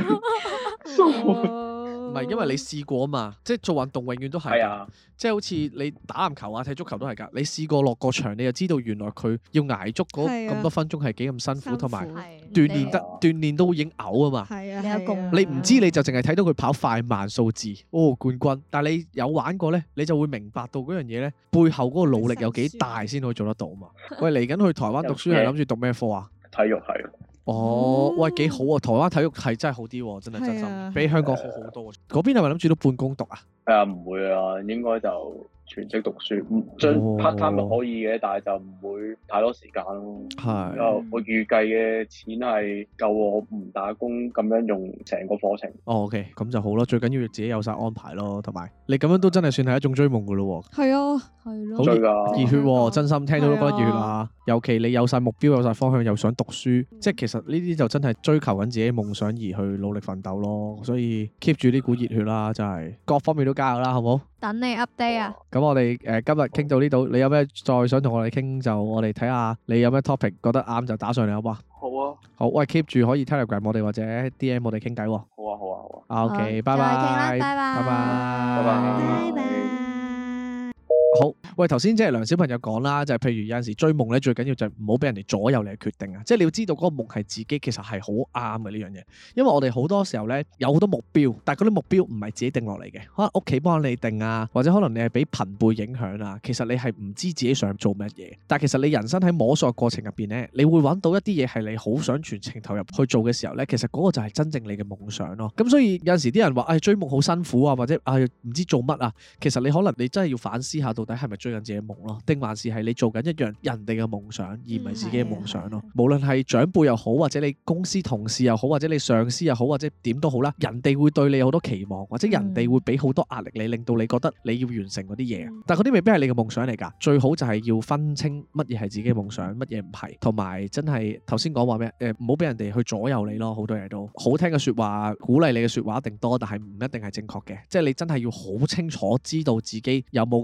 唔係因為你試過啊嘛，即係做運動永遠都係㗎，即係好似你打籃球啊、踢足球都係㗎。你試過落個場，你就知道原來佢要捱足咁多分鐘係幾咁辛苦，同埋鍛鍊都已經嘔啊嘛。你唔知你就淨係睇到佢跑快慢數字，冠軍。但係你有玩過咧，你就會明白到嗰樣嘢咧，背後嗰個努力有幾大先可以做得到嘛。喂，嚟緊去台灣讀書係諗住讀咩科啊？體育系。哦，喂，幾好啊！台灣體育系真係好啲喎，真係真心，比香港好好多。嗰邊係咪諗住都半工讀啊？係啊，唔會啊，應該就全職讀書，將 part time 咪可以嘅，但係就唔會太多時間咯。係，我預計嘅錢係夠我唔打工咁樣用成個課程。哦 OK，咁就好咯，最緊要自己有晒安排咯，同埋你咁樣都真係算係一種追夢噶咯。係啊，係咯，好熱血喎，真心聽到都覺得熱血啊！尤其你有晒目標、有晒方向，又想讀書，即係其實呢啲就真係追求緊自己夢想而去努力奮鬥咯。所以 keep 住呢股熱血啦，真係各方面都加油啦，好唔好？等你 update 啊！咁我哋今日傾到呢度，你有咩再想同我哋傾，就我哋睇下你有咩 topic 覺得啱就打上嚟，好唔好啊？好啊！好，喂 keep 住可以 Telegram 我哋或者 DM 我哋傾偈喎。好啊好啊好啊。OK，拜拜。拜拜。拜拜。拜拜。好，喂，頭先即係梁小朋友講啦，就係譬如有陣時追夢咧，最緊要就係唔好俾人哋左右你嘅決定啊！即係你要知道嗰個夢係自己，其實係好啱嘅呢樣嘢。因為我哋好多時候咧有好多目標，但係嗰啲目標唔係自己定落嚟嘅，可能屋企幫你定啊，或者可能你係俾朋輩影響啊。其實你係唔知自己想做乜嘢，但係其實你人生喺摸索過程入邊咧，你會揾到一啲嘢係你好想全程投入去做嘅時候咧，其實嗰個就係真正你嘅夢想咯。咁所以有陣時啲人話追夢好辛苦啊，或者唔知做乜啊，其實你可能你真係要反思下到底係咪追緊自己夢咯，定還是係你做緊一樣人哋嘅夢想，而唔係自己嘅夢想咯。無論係長輩又好，或者你公司同事又好，或者你上司又好，或者點都好啦，人哋會對你有好多期望，或者人哋會俾好多壓力你，令到你覺得你要完成嗰啲嘢。但係嗰啲未必係你嘅夢想嚟㗎。最好就係要分清乜嘢係自己嘅夢想，乜嘢唔係，同埋真係頭先講話咩？唔好俾人哋去左右你咯。好多嘢都好聽嘅説話，鼓勵你嘅説話一定多，但係唔一定係正確嘅。即係你真係要好清楚知道自己有冇咁嘅能力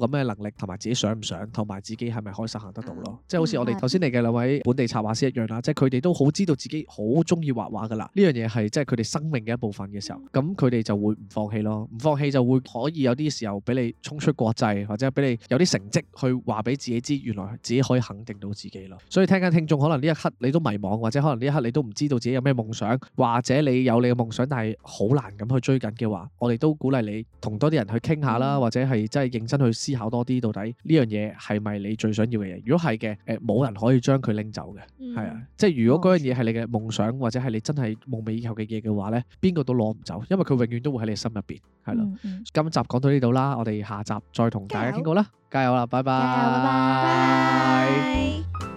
力，同埋自己想唔想，同埋自己係咪可以實行得到咯。即係好似我哋頭先嚟嘅兩位本地插畫師一樣啦，即係佢哋都好知道自己好中意畫畫噶啦。呢樣嘢係即係佢哋生命嘅一部分嘅時候，咁佢哋就會唔放棄咯。唔放棄就會可以有啲時候俾你衝出國際，或者俾你有啲成績去話俾自己知，原來自己可以肯定到自己咯。所以聽緊聽眾可能呢一刻你都迷茫，或者可能呢一刻你都唔知道自己有咩夢想，或者你有你嘅夢想但係好難咁去追緊嘅話，我哋都鼓勵你同多啲人去傾下啦，或者係真係認真去思考多啲，到底呢樣嘢係咪你最想要嘅嘢？如果係嘅，冇人可以將佢拎走嘅，係啊，即係如果嗰樣嘢係你嘅夢想，或者係你真係夢寐以求嘅嘢嘅話咧，邊個都攞唔走，因為佢永遠都會喺你心入邊，係咯。今集講到呢度啦，我哋下集再同大家傾過啦，加油啦，拜拜。
拜拜。